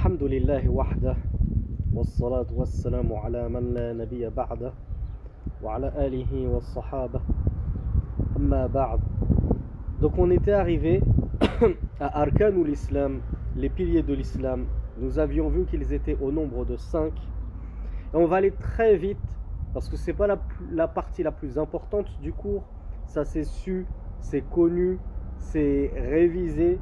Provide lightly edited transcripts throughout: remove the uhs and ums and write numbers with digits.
الحمد لله وحده والصلاة والسلام على من لا نبي بعده وعلى آله والصحابة أما بعد. Donc on était arrivé à Arkanul Islam, les piliers de l'islam. Nous avions vu qu'ils étaient au nombre de 5. Et on va aller très vite parce que c'est pas la partie la plus importante du cours. Ça c'est su, c'est connu, c'est révisé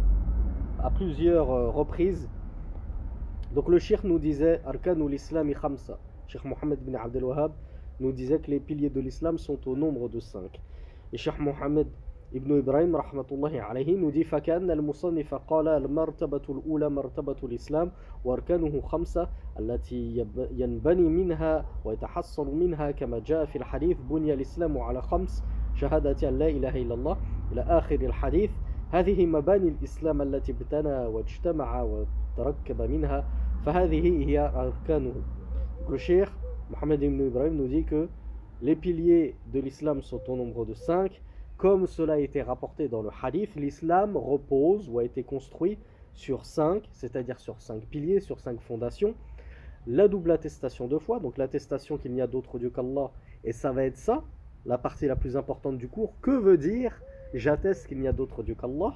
à plusieurs reprises. Donc le cheikh nous disait Arkanul Islami Khamsa. Cheikh Mohammed bin Abdel Wahhab nous disait que les piliers de l'islam sont au nombre de 5. Et Cheikh Mohammed ibn Ibrahim rahmatullahi alayhi nous dit فكأن المصنف قال المرتبة الأولى مرتبة الإسلام وأركانه 5 التي ينبني منها ويتحصل منها كما جاء في الحديث بني الإسلام على 5 شهادة أن لا إله إلا الله إلى آخر الحديث. هذه مباني الإسلام التي ابتنى واجتمع وتركب منها فهذه هي أركانه. Le cheikh Mohammed ibn Ibrahim nous dit que les piliers de l'islam sont au nombre de 5. Comme cela a été rapporté dans le hadith, l'islam repose ou a été construit sur 5, c'est-à-dire sur 5 piliers, sur 5 fondations. La double attestation de foi, donc l'attestation qu'il n'y a d'autre Dieu qu'Allah, et ça va être ça, la partie la plus importante du cours. Que veut dire j'atteste qu'il n'y a d'autre Dieu qu'Allah?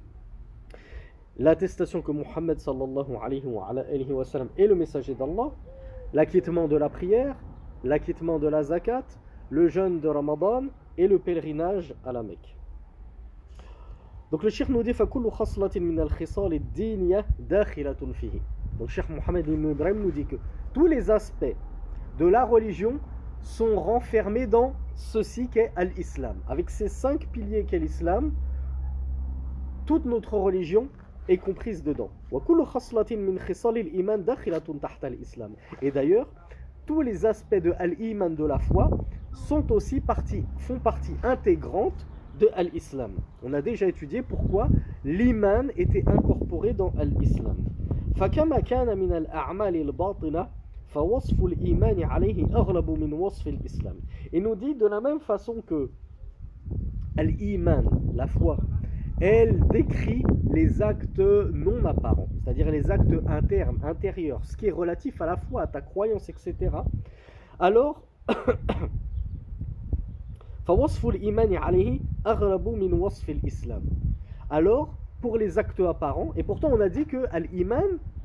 L'attestation que Muhammad sallallahu alayhi wa sallam est le messager d'Allah, l'acquittement de la prière, l'acquittement de la zakat, le jeûne de Ramadan et le pèlerinage à la Mecque. Donc le cheikh nous dit فَكُلُّ خَصْلَةٍ مِنَ الْخِصَالِ الدِّينِيَةِ دَاخِلَةٌ فِيهِ. Donc le cheikh Mohammed ibn Ibrahim nous dit que tous les aspects de la religion sont renfermés dans ceci qu'est l'islam. Avec ces 5 piliers qu'est l'islam, toute notre religion est comprise dedans. وَكُلُّ خَصْلَةٍ مِنْ خِصَالِ الْإِيمَانِ دَاخِلَةٌ تَحْتَ الْإِسْلَامِ. Et d'ailleurs, tous les aspects de l'iman de la foi sont aussi font partie intégrante de l'islam. On a déjà étudié pourquoi l'iman était incorporé dans l'islam. فَكَمَا كَانَ مِنَ الْأَعْمَالِ الْبَاطِنَةِ فَوَصْفُ الْإِيمَانِ عَلَيْهِ أَغْلَبُ مِنْ وَصْفِ الْإِسْلَامِ. Il nous dit de la même façon que l'iman, la foi, elle décrit les actes non apparents, c'est-à-dire les actes internes, intérieurs, ce qui est relatif à la foi, à ta croyance, etc. Alors, alors, pour les actes apparents, et pourtant on a dit que l'iman,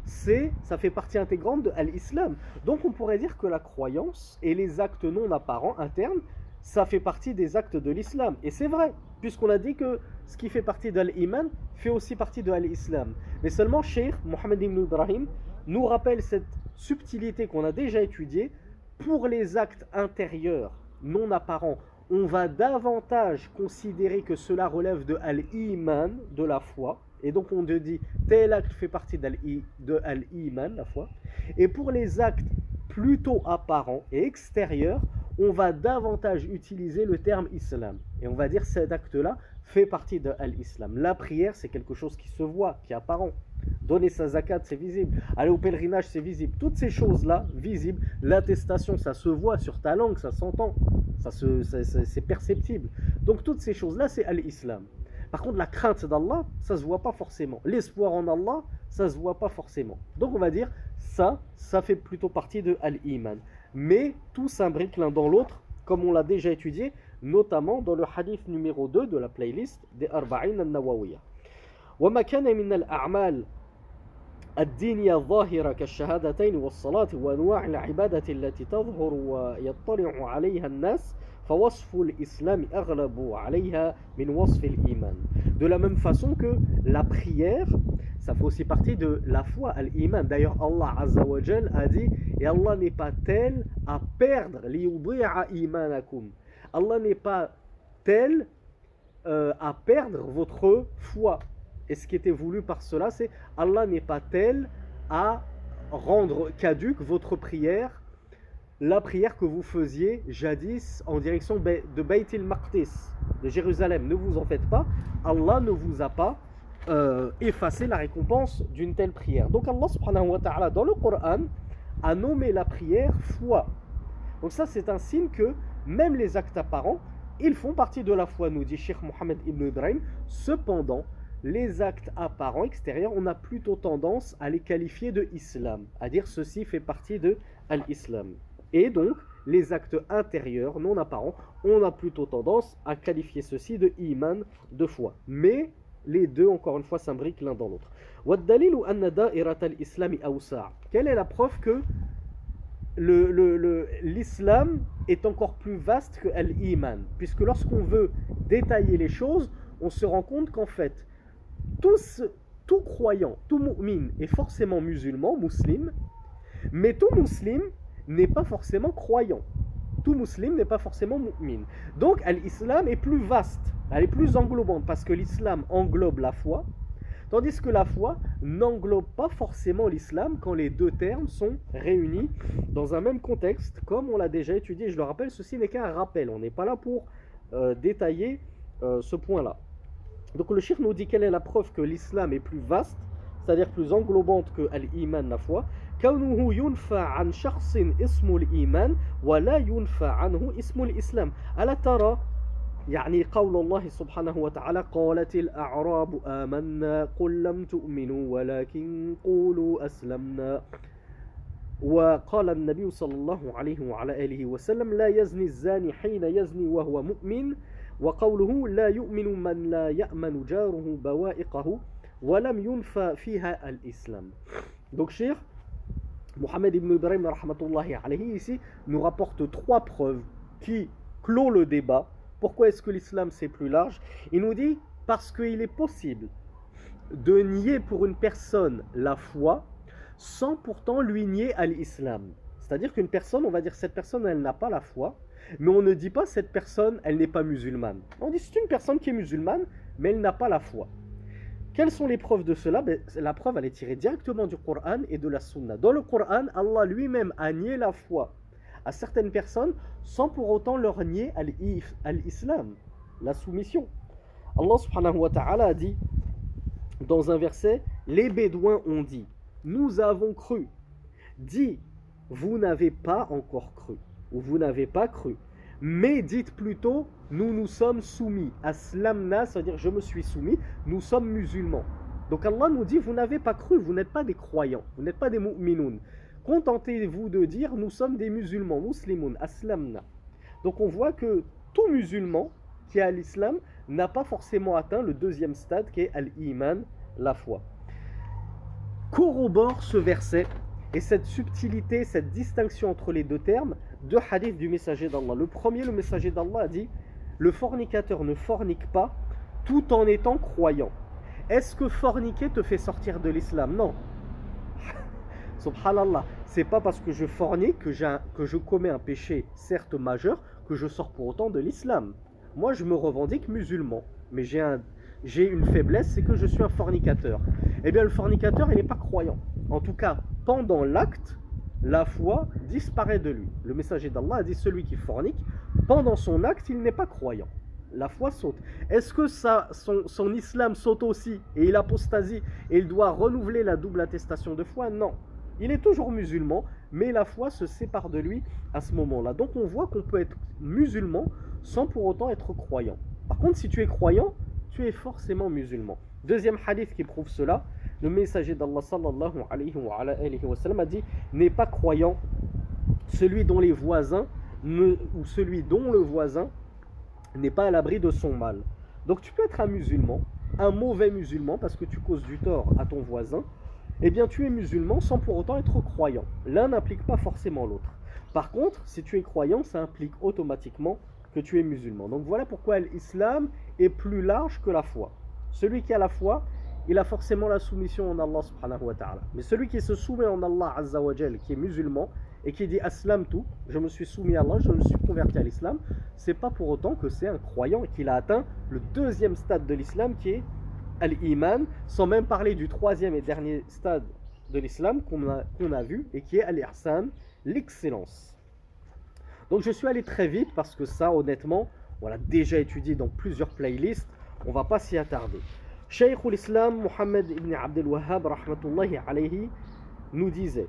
ça fait partie intégrante de l'islam. Donc on pourrait dire que la croyance et les actes non apparents, internes, ça fait partie des actes de l'islam. Et c'est vrai, puisqu'on a dit que ce qui fait partie de l'iman fait aussi partie de l'islam. Mais seulement Cheikh Mohammed ibn Ibrahim nous rappelle cette subtilité qu'on a déjà étudiée. Pour les actes intérieurs non apparents, on va davantage considérer que cela relève de l'iman, de la foi. Et donc on te dit tel acte fait partie de l'iman, la foi. Et pour les actes plutôt apparents et extérieurs, on va davantage utiliser le terme islam. Et on va dire cet acte-là fait partie de l'islam. La prière, c'est quelque chose qui se voit, qui est apparent. Donner sa zakat, c'est visible. Aller au pèlerinage, c'est visible. Toutes ces choses-là, visibles. L'attestation, ça se voit sur ta langue, ça s'entend. C'est perceptible. Donc toutes ces choses-là, c'est l'islam. Par contre, la crainte d'Allah, ça ne se voit pas forcément. L'espoir en Allah, ça ne se voit pas forcément. Donc on va dire, ça fait plutôt partie de l'iman. Mais tout s'imbrique l'un dans l'autre, comme on l'a déjà étudié, notamment dans le hadith numéro 2 de la playlist des Arba'in al-Nawawiyya. وَمَا كَانَ مِنَ الْأَعْمَالِ الدِّينِيَّةِ الظَّاهِرَةِ كَالشَّهَادَتَيْنِ وَالصَّلَاةِ وَأَنْوَاعِ الْعِبَادَةِ التي تظهر ويطلع عليها الناس فوصف الإسلام أغلب عليها من وصف الإيمان. De la même façon que la prière, ça fait aussi partie de la foi, l'iman. D'ailleurs, Allah Azza wa Jal a dit, et Allah n'est pas tel à perdre liyudi'a imanakum. Allah n'est pas tel à perdre votre foi. Et ce qui était voulu par cela, c'est Allah n'est pas tel à rendre caduque votre prière, la prière que vous faisiez jadis en direction de Bayt al-Maqdis, de Jérusalem. Ne vous en faites pas, Allah ne vous a pas effacé la récompense d'une telle prière. Donc Allah subhanahu wa ta'ala dans le Coran a nommé la prière foi. Donc ça c'est un signe que même les actes apparents, ils font partie de la foi, nous dit Cheikh Mohammed ibn Ibrahim. Cependant, les actes apparents, extérieurs, on a plutôt tendance à les qualifier de islam, à dire ceci fait partie de l'islam. Et donc, les actes intérieurs, non apparents, on a plutôt tendance à qualifier ceci de iman, de foi. Mais les deux, encore une fois, s'imbriquent l'un dans l'autre. Quelle est la preuve que l'islam est encore plus vaste que l'iman? Puisque lorsqu'on veut détailler les choses, on se rend compte qu'en fait, tout croyant, tout mu'min est forcément musulman, musulman, mais tout musulman n'est pas forcément croyant. Tout musulman n'est pas forcément mu'min. Donc l'islam est plus vaste, elle est plus englobante, parce que l'islam englobe la foi, tandis que la foi n'englobe pas forcément l'islam quand les deux termes sont réunis dans un même contexte, comme on l'a déjà étudié. Je le rappelle, ceci n'est qu'un rappel, on n'est pas là pour détailler ce point-là. Donc le cheikh nous dit quelle est la preuve que l'islam est plus vaste, c'est-à-dire plus englobante que l'iman, la foi. كونه ينفى عن شخص اسم الإيمان ولا ينفى عنه اسم الإسلام. ألا ترى يعني قول الله سبحانه وتعالى قالت الأعراب آمنا قل لم تؤمنوا ولكن قولوا أسلمنا. وقال النبي صلى الله عليه وعلى آله وسلم لا يزني الزاني حين يزني وهو مؤمن. وقوله لا يؤمن من لا يأمن جاره بوائقه ولم ينفى فيها الإسلام. Donc Cheikh Mohamed ibn Ibrahim rahmatullahi alayhi ici nous rapporte trois preuves qui clôt le débat. Pourquoi est-ce que l'islam c'est plus large? Il nous dit parce qu'il est possible de nier pour une personne la foi sans pourtant lui nier à l'islam. C'est-à-dire qu'une personne, on va dire cette personne elle n'a pas la foi, mais on ne dit pas cette personne elle n'est pas musulmane. On dit c'est une personne qui est musulmane mais elle n'a pas la foi. Quelles sont les preuves de cela? La preuve, elle est tirée directement du Coran et de la Sunna. Dans le Coran, Allah lui-même a nié la foi à certaines personnes sans pour autant leur nier l'islam, la soumission. Allah subhanahu wa ta'ala a dit dans un verset, les Bédouins ont dit, nous avons cru. Dit, vous n'avez pas encore cru, ou vous n'avez pas cru. Mais dites plutôt, nous nous sommes soumis. Aslamna, c'est-à-dire je me suis soumis, nous sommes musulmans. Donc Allah nous dit, vous n'avez pas cru, vous n'êtes pas des croyants, vous n'êtes pas des mu'minoun. Contentez-vous de dire, nous sommes des musulmans, muslimoun, aslamna. Donc on voit que tout musulman qui a l'islam n'a pas forcément atteint le deuxième stade qui est al-iman, la foi. Corrobore ce verset et cette subtilité, cette distinction entre les deux termes, deux hadiths du messager d'Allah. Le premier, le messager d'Allah a dit, le fornicateur ne fornique pas tout en étant croyant. Est-ce que forniquer te fait sortir de l'islam? Non. Subhanallah, c'est pas parce que je fornique que je commets un péché certes majeur que je sors pour autant de l'islam. Moi je me revendique musulman, mais j'ai une faiblesse, c'est que je suis un fornicateur. Eh bien le fornicateur il n'est pas croyant. En tout cas, pendant l'acte, la foi disparaît de lui. Le messager d'Allah a dit celui qui fornique, pendant son acte, il n'est pas croyant. La foi saute. Est-ce que son islam saute aussi et il apostasie et il doit renouveler la double attestation de foi? Non. Il est toujours musulman, mais la foi se sépare de lui à ce moment-là. Donc on voit qu'on peut être musulman sans pour autant être croyant. Par contre, si tu es croyant, tu es forcément musulman. Deuxième hadith qui prouve cela, le messager d'Allah sallallahu alayhi wa sallam a dit, n'est pas croyant celui dont les voisins ou celui dont le voisin n'est pas à l'abri de son mal. Donc tu peux être un musulman, un mauvais musulman parce que tu causes du tort à ton voisin, eh bien tu es musulman sans pour autant être croyant. L'un n'implique pas forcément l'autre. Par contre, si tu es croyant, ça implique automatiquement que tu es musulman. Donc voilà pourquoi l'islam est plus large que la foi. Celui qui a la foi, il a forcément la soumission en Allah subhanahu wa ta'ala. Mais celui qui se soumet en Allah azza wa jal, qui est musulman, et qui dit aslamtu, je me suis soumis à Allah, je me suis converti à l'islam, c'est pas pour autant que c'est un croyant et qu'il a atteint le deuxième stade de l'islam qui est al-iman, sans même parler du troisième et dernier stade de l'islam qu'on a vu et qui est al-ihsan, l'excellence. Donc je suis allé très vite parce que ça honnêtement, on l'a déjà étudié dans plusieurs playlists, on va pas s'y attarder. Cheikh l'Islam Mohammed ibn Abdel Wahhab rahmatullahi alayhi nous disait,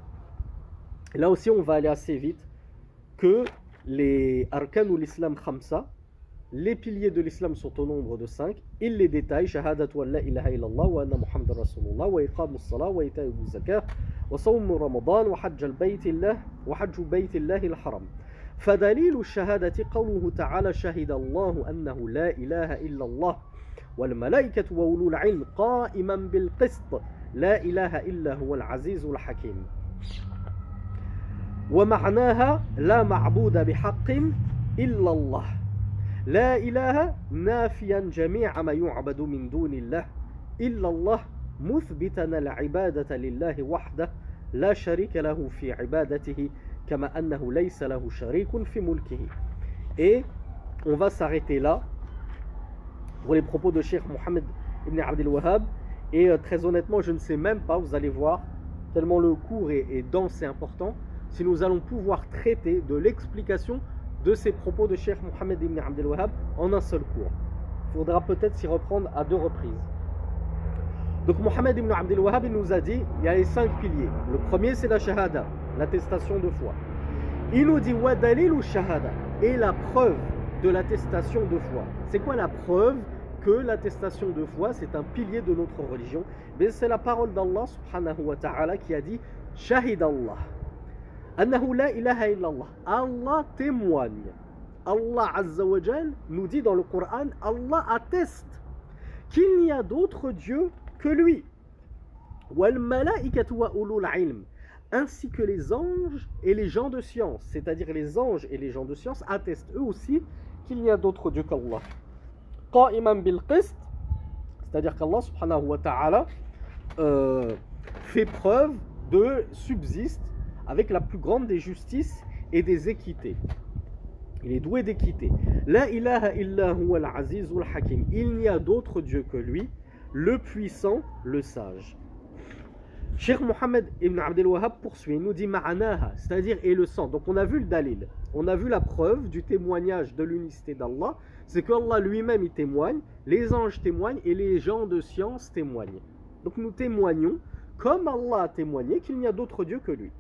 là aussi on va aller assez vite, que les arkan ou l'islam khamsa, les piliers de l'islam sont au nombre de 5. Il les détaille. Shahadatu an la ilaha illallah wa anna Muhammad Rasulullah wa iqamus salah wa ita'u zakah wa sawm ramadan wa hajj al-baytillah wa hajj baytillah al-haram. فدليل الشهادة قوله تعالى شهد الله أنه لا إله إلا الله والملائكة وأولو العلم قائما بالقسط لا إله إلا هو العزيز الحكيم ومعناها لا معبود بحق إلا الله لا إله نافيا جميع ما يعبد من دون الله إلا الله مثبتا العبادة لله وحده لا شريك له في عبادته كما أنه ليس له شريك في ملكه. Et on va s'arrêter là pour les propos de Cheikh Mohammed ibn Abdel Wahhab. Et très honnêtement, je ne sais même pas, vous allez voir, tellement le cours est dense et important, si nous allons pouvoir traiter de l'explication de ces propos de Cheikh Mohammed ibn Abdel Wahhab en un seul cours. Il faudra peut-être s'y reprendre à 2 reprises. Donc Mohammed ibn Abdel Wahhab il nous a dit, il y a les 5 piliers. Le premier c'est la shahada, l'attestation de foi. Il nous dit wa dalilu shahada, et la preuve de l'attestation de foi. C'est quoi la preuve que l'attestation de foi c'est un pilier de notre religion? C'est la parole d'Allah subhanahu wa ta'ala qui a dit Shahid Allah annahu la ilaha illallah. Allah témoigne. Allah azza wa jal nous dit dans le Coran, Allah atteste qu'il n'y a d'autre Dieu que lui. Wal malaikatu wa ulul ilm, ainsi que les anges et les gens de science, c'est-à-dire les anges et les gens de science attestent eux aussi qu'il n'y a d'autre Dieu qu'Allah. Qa'iman bil qist, c'est-à-dire qu'Allah subhanahu wa ta'ala fait preuve de subsiste avec la plus grande des justices et des équités. Il est doué d'équité. La ilaha illa huwa al-azizul hakim, il n'y a d'autre Dieu que lui, le puissant, le sage. Cheikh Mohammed ibn Abdel Wahhab poursuit, il nous dit ma'anaha, c'est-à-dire et le sang. Donc on a vu le dalil, on a vu la preuve du témoignage de l'unicité d'Allah, c'est qu'Allah lui-même il témoigne, les anges témoignent et les gens de science témoignent. Donc nous témoignons, comme Allah a témoigné, qu'il n'y a d'autre Dieu que lui.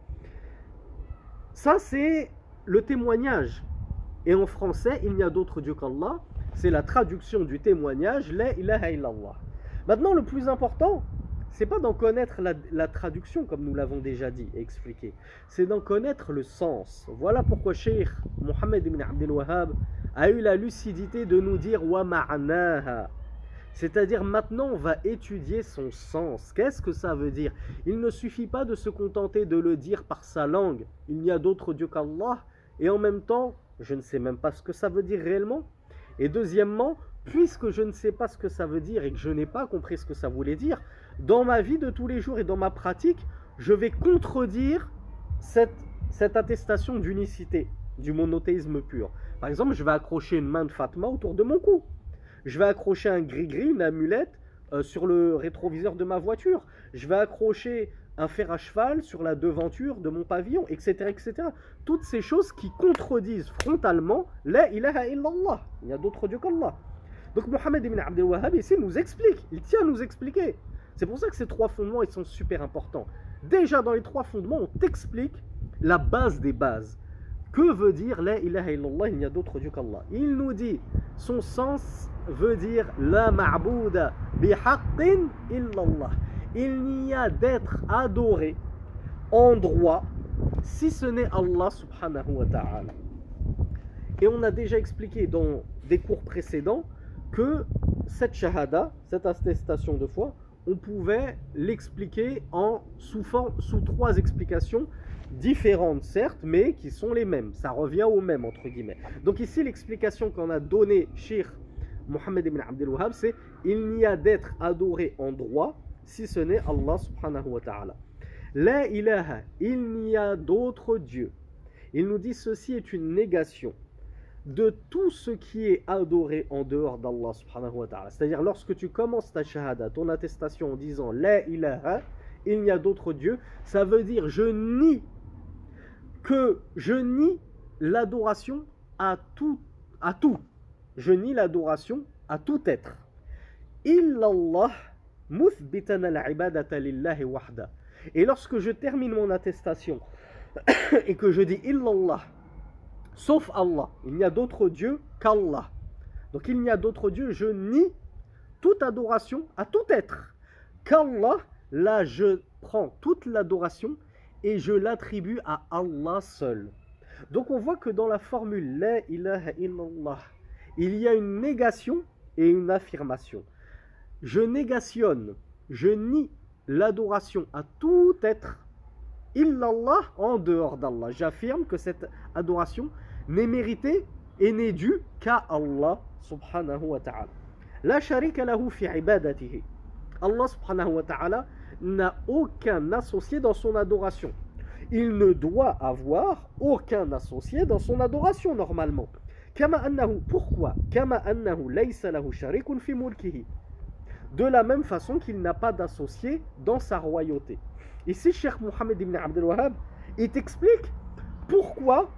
Ça c'est le témoignage. Et en français, il n'y a d'autre Dieu qu'Allah, c'est la traduction du témoignage, la ilaha illallah. Maintenant le plus important, c'est pas d'en connaître la traduction comme nous l'avons déjà dit et expliqué, c'est d'en connaître le sens. Voilà pourquoi Cheikh Mohammed ibn Abdel Wahhab a eu la lucidité de nous dire wa ma'naha, c'est-à-dire maintenant on va étudier son sens. Qu'est-ce que ça veut dire? Il ne suffit pas de se contenter de le dire par sa langue, il n'y a d'autre Dieu qu'Allah, et en même temps je ne sais même pas ce que ça veut dire réellement. Et deuxièmement, puisque je ne sais pas ce que ça veut dire et que je n'ai pas compris ce que ça voulait dire, dans ma vie de tous les jours et dans ma pratique, je vais contredire cette attestation d'unicité, du monothéisme pur. Par exemple, je vais accrocher une main de Fatma autour de mon cou. Je vais accrocher un gris-gris, une amulette sur le rétroviseur de ma voiture. Je vais accrocher un fer à cheval sur la devanture de mon pavillon, etc., etc. Toutes ces choses qui contredisent frontalement la ilaha illallah. Il y a d'autres dieux qu'Allah. Donc Mohammed ibn Abdel Wahhab ici nous explique, il tient à nous expliquer. C'est pour ça que ces 3 fondements ils sont super importants. Déjà dans les 3 fondements, on t'explique la base des bases. Que veut dire la ilaha illallah, il n'y a d'autre Dieu qu'Allah? Il nous dit, son sens veut dire la ma'bouda bihaqqin illallah. Il n'y a d'être adoré en droit si ce n'est Allah subhanahu wa ta'ala. Et on a déjà expliqué dans des cours précédents que cette shahada, cette attestation de foi, on pouvait l'expliquer sous 3 explications différentes certes, mais qui sont les mêmes. Ça revient au même entre guillemets. Donc ici l'explication qu'on a donnée Cheikh Mohammed ibn Abdel Wahhab, c'est il n'y a d'être adoré en droit si ce n'est Allah subhanahu wa ta'ala. La ilaha, il n'y a d'autre Dieu. Il nous dit ceci est une négation de tout ce qui est adoré en dehors d'Allah subhanahu wa ta'ala. C'est-à-dire lorsque tu commences ta shahada, ton attestation en disant la ilaha, il n'y a d'autre Dieu, ça veut dire je nie l'adoration à tout. Je nie l'adoration à tout être. Illallah muthbitan al-ibadata lillahi wahda. Et lorsque je termine mon attestation et que je dis illallah, sauf Allah, il n'y a d'autre Dieu qu'Allah. Donc il n'y a d'autre Dieu, je nie toute adoration à tout être. Qu'Allah, là je prends toute l'adoration et je l'attribue à Allah seul. Donc on voit que dans la formule La ilaha illallah, il y a une négation et une affirmation. Je négationne, je nie l'adoration à tout être, illallah, en dehors d'Allah. J'affirme que cette adoration n'est méritée et n'est due qu'à Allah subhanahu wa ta'ala. La sharika lahu fi ibadatihi. Allah subhanahu wa ta'ala n'a aucun associé dans son adoration. Il ne doit avoir aucun associé dans son adoration normalement. Kama annahu, pourquoi? Kama annahu laysa lahu sharikun fi mulkihi. De la même façon qu'il n'a pas d'associé dans sa royauté. Ici, Cheikh Mohammed ibn Abdel Wahhab, il t'explique pourquoi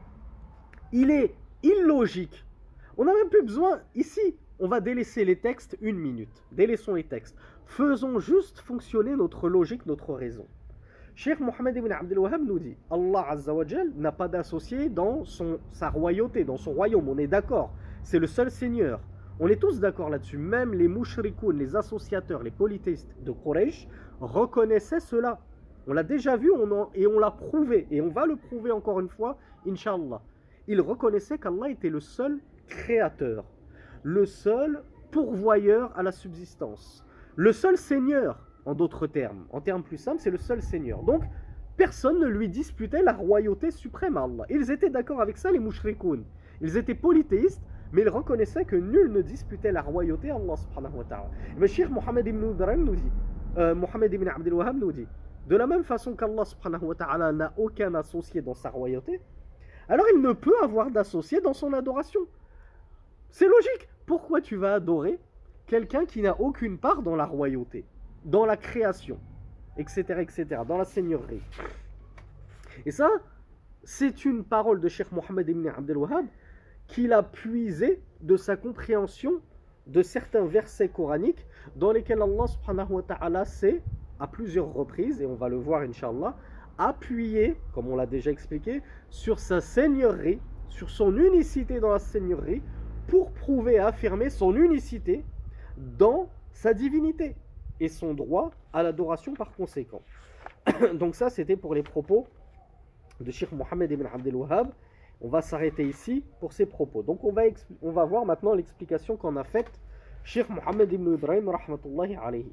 il est illogique. On n'a même plus besoin, ici, on va délaisser les textes une minute. Délaissons les textes. Faisons juste fonctionner notre logique, notre raison. Cheikh Mohammed ibn Abdel Wahhab nous dit, Allah Azza wa Jal n'a pas d'associé dans sa royauté, dans son royaume. On est d'accord. C'est le seul Seigneur. On est tous d'accord là-dessus. Même les mouchrikoun, les associateurs, les polythéistes de Quraysh reconnaissaient cela. On l'a déjà vu et on l'a prouvé. Et on va le prouver encore une fois, Inch'Allah. Ils reconnaissaient qu'Allah était le seul créateur, le seul pourvoyeur à la subsistance, le seul Seigneur, en d'autres termes. En termes plus simples, c'est le seul Seigneur. Donc, personne ne lui disputait la royauté suprême à Allah. Ils étaient d'accord avec ça, les mouchrikoun. Ils étaient polythéistes, mais ils reconnaissaient que nul ne disputait la royauté à Allah subhanahu wa ta'ala. Mais Cheikh Mohammed ibn Ibrahim nous dit, Mohammed ibn Abdel Wahhab nous dit, de la même façon qu'Allah subhanahu wa ta'ala n'a aucun associé dans sa royauté, alors il ne peut avoir d'associé dans son adoration. C'est logique. Pourquoi tu vas adorer quelqu'un qui n'a aucune part dans la royauté, dans la création, etc., etc., dans la seigneurie? Et ça, c'est une parole de Cheikh Mohammed ibn Abdel Wahhab qu'il a puisé de sa compréhension de certains versets coraniques dans lesquels Allah subhanahu wa ta'ala s'est, à plusieurs reprises, et on va le voir Inch'Allah, appuyé, comme on l'a déjà expliqué, sur sa seigneurie, sur son unicité dans la seigneurie, pour prouver et affirmer son unicité dans sa divinité et son droit à l'adoration par conséquent. Donc ça, c'était pour les propos de Cheikh Mohammed ibn Abdel Wahhab. On va s'arrêter ici pour ces propos. Donc on va voir maintenant l'explication qu'en a faite Cheikh Mohammed ibn Ibrahim rahmatullahi alayhi.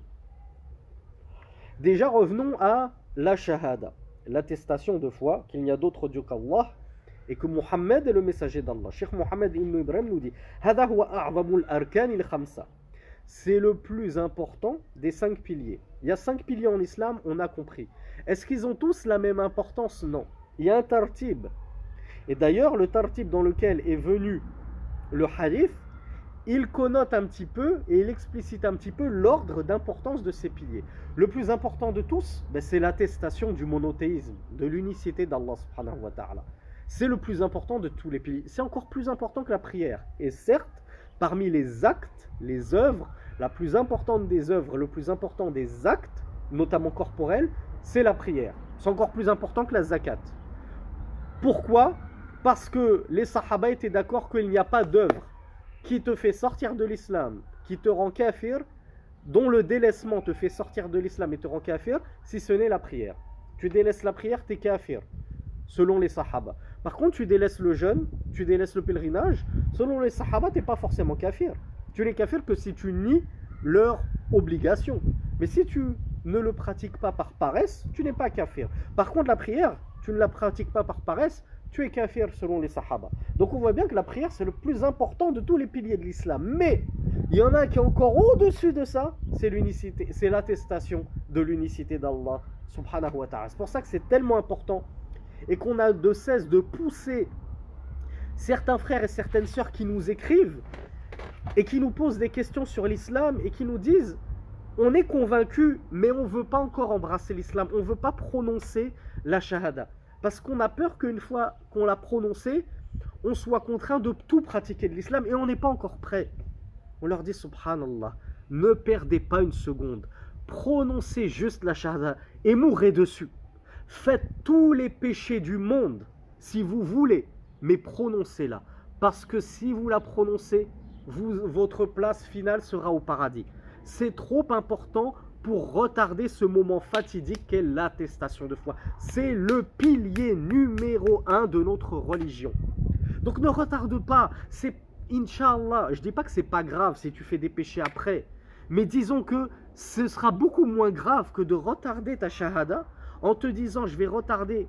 Déjà, revenons à la shahada, l'attestation de foi qu'il n'y a d'autre Dieu qu'Allah et que Mohammed est le messager d'Allah. Cheikh Mohammed ibn Ibrahim nous dit Hada huwa a'zamul arkan il khamsa. C'est le plus important des 5 piliers. Il y a 5 piliers en islam, on a compris. Est-ce qu'ils ont tous la même importance? Non. Il y a un tartib. Et d'ailleurs, le tartib dans lequel est venu le hadith, il connote un petit peu et il explicite un petit peu l'ordre d'importance de ces piliers. Le plus important de tous, c'est l'attestation du monothéisme, de l'unicité d'Allah subhanahu wa ta'ala. C'est le plus important de tous les piliers. C'est encore plus important que la prière. Et certes, parmi les actes, les œuvres, la plus importante des œuvres, le plus important des actes, notamment corporels, c'est la prière. C'est encore plus important que la zakat. Pourquoi? Parce que les sahaba étaient d'accord qu'il n'y a pas d'œuvre qui te fait sortir de l'islam, qui te rend kafir, dont le délaissement te fait sortir de l'islam et te rend kafir, si ce n'est la prière. Tu délaisses la prière, tu es kafir, selon les sahaba. Par contre, tu délaisses le jeûne, tu délaisses le pèlerinage, selon les sahaba, tu n'es pas forcément kafir. Tu n'es kafir que si tu nies leur obligation. Mais si tu ne le pratiques pas par paresse, tu n'es pas kafir. Par contre, la prière, tu ne la pratiques pas par paresse, tu es kafir selon les sahaba. Donc on voit bien que la prière, c'est le plus important de tous les piliers de l'islam. Mais il y en a qui est encore au-dessus de ça, c'est l'unicité, c'est l'attestation de l'unicité d'Allah subhanahu wa ta'ala. C'est pour ça que c'est tellement important et qu'on a de cesse de pousser certains frères et certaines sœurs qui nous écrivent et qui nous posent des questions sur l'islam et qui nous disent on est convaincu mais on ne veut pas encore embrasser l'islam, on ne veut pas prononcer la shahada. Parce qu'on a peur qu'une fois qu'on l'a prononcé, on soit contraint de tout pratiquer de l'islam et on n'est pas encore prêt. On leur dit subhanallah, ne perdez pas une seconde, prononcez juste la shahada et mourrez dessus. Faites tous les péchés du monde si vous voulez, mais prononcez-la. Parce que si vous la prononcez, votre place finale sera au paradis. C'est trop important pour retarder ce moment fatidique qu'est l'attestation de foi. C'est le pilier numéro 1 de notre religion. Donc ne retarde pas. C'est, Inch'Allah, je ne dis pas que c'est pas grave si tu fais des péchés après, mais disons que ce sera beaucoup moins grave que de retarder ta shahada en te disant je vais retarder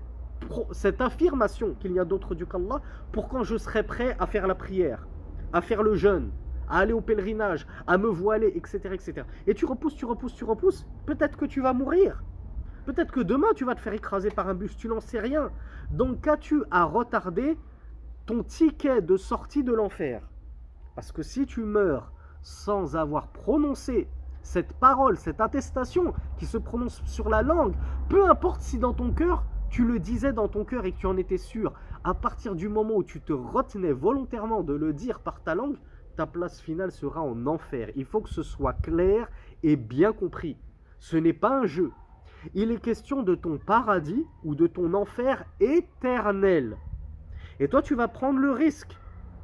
cette affirmation qu'il n'y a d'autre Dieu qu'Allah pour quand je serai prêt à faire la prière, à faire le jeûne, à aller au pèlerinage, à me voiler, etc. etc. Et tu repousses, peut-être que tu vas mourir. Peut-être que demain tu vas te faire écraser par un bus, tu n'en sais rien. Donc qu'as-tu à retarder ton ticket de sortie de l'enfer? Parce que si tu meurs sans avoir prononcé cette parole, cette attestation qui se prononce sur la langue, peu importe si dans ton cœur, tu le disais dans ton cœur et que tu en étais sûr, à partir du moment où tu te retenais volontairement de le dire par ta langue, ta place finale sera en enfer. Il faut que ce soit clair et bien compris. Ce n'est pas un jeu. Il est question de ton paradis ou de ton enfer éternel. Et toi, tu vas prendre le risque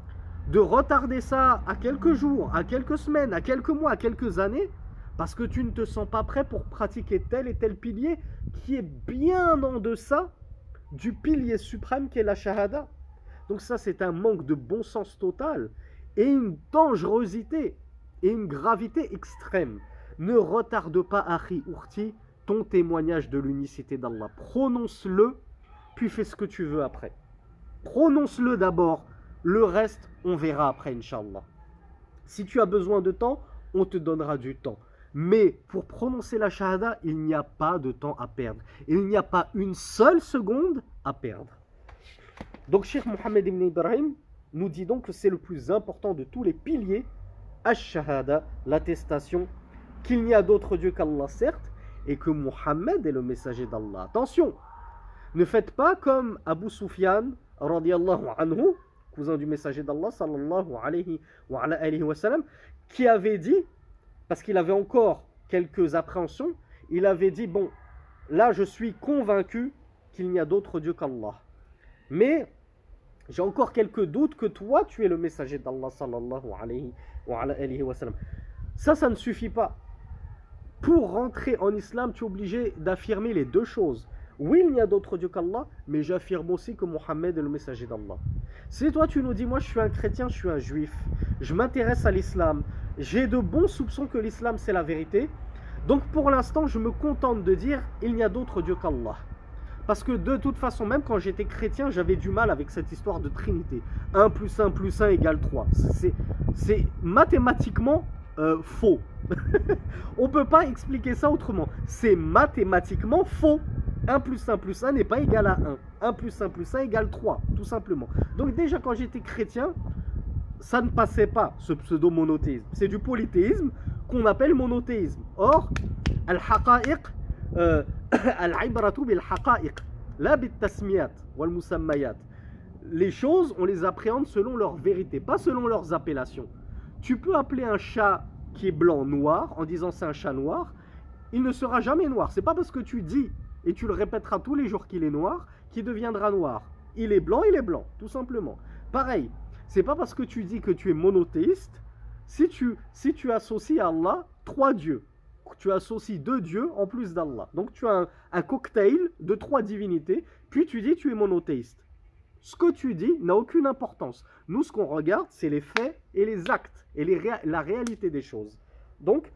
de retarder ça à quelques jours, à quelques semaines, à quelques mois, à quelques années, parce que tu ne te sens pas prêt pour pratiquer tel et tel pilier qui est bien en deçà du pilier suprême qui est la shahada. Donc ça, c'est un manque de bon sens total et une dangerosité et une gravité extrême. Ne retarde pas, Akhi Urti, ton témoignage de l'unicité d'Allah. Prononce-le, puis fais ce que tu veux après. Prononce-le d'abord, le reste, on verra après, Inch'Allah. Si tu as besoin de temps, on te donnera du temps. Mais pour prononcer la shahada, il n'y a pas de temps à perdre. Il n'y a pas une seule seconde à perdre. Donc, Cheikh Mohammed ibn Ibrahim nous dit donc que c'est le plus important de tous les piliers, ash-shahada, l'attestation, qu'il n'y a d'autre Dieu qu'Allah, certes, et que Mohammed est le messager d'Allah. Attention, ne faites pas comme Abu Sufyan, radiyallahu anhu, cousin du messager d'Allah, sallallahu alayhi wa sallam, qui avait dit, parce qu'il avait encore quelques appréhensions, il avait dit, bon, là je suis convaincu qu'il n'y a d'autre Dieu qu'Allah. Mais j'ai encore quelques doutes que toi tu es le messager d'Allah, sallallahu alayhi wa sallam. Ça ne suffit pas. Pour rentrer en islam, tu es obligé d'affirmer les deux choses. Oui, il n'y a d'autre Dieu qu'Allah, mais j'affirme aussi que Mohammed est le messager d'Allah. Si toi tu nous dis, moi je suis un chrétien, je suis un juif, je m'intéresse à l'islam, j'ai de bons soupçons que l'islam c'est la vérité, donc pour l'instant je me contente de dire, il n'y a d'autre Dieu qu'Allah. Parce que de toute façon, même quand j'étais chrétien, j'avais du mal avec cette histoire de Trinité. 1 plus 1 plus 1 égale 3. C'est mathématiquement faux. On ne peut pas expliquer ça autrement. C'est mathématiquement faux. 1 plus 1 plus 1 n'est pas égal à 1. 1 plus 1 plus 1 égale 3, tout simplement. Donc déjà, quand j'étais chrétien, ça ne passait pas, ce pseudo-monothéisme. C'est du polythéisme qu'on appelle monothéisme. Or, al-haqa'iq, al-ibratu bil-haqa'iq, la bit-tasmiyat wal-musammayat. Les choses, on les appréhende selon leur vérité, pas selon leurs appellations. Tu peux appeler un chat qui est blanc noir en disant c'est un chat noir, il ne sera jamais noir. C'est pas parce que tu dis et tu le répéteras tous les jours qu'il est noir qu'il deviendra noir. Il est blanc, tout simplement. Pareil, c'est pas parce que tu dis que tu es monothéiste, si tu associes à Allah 3 dieux, tu associes 2 dieux en plus d'Allah. Donc tu as un cocktail de 3 divinités, puis tu dis tu es monothéiste. Ce que tu dis n'a aucune importance. Nous, ce qu'on regarde, c'est les faits et les actes et la réalité des choses. Donc,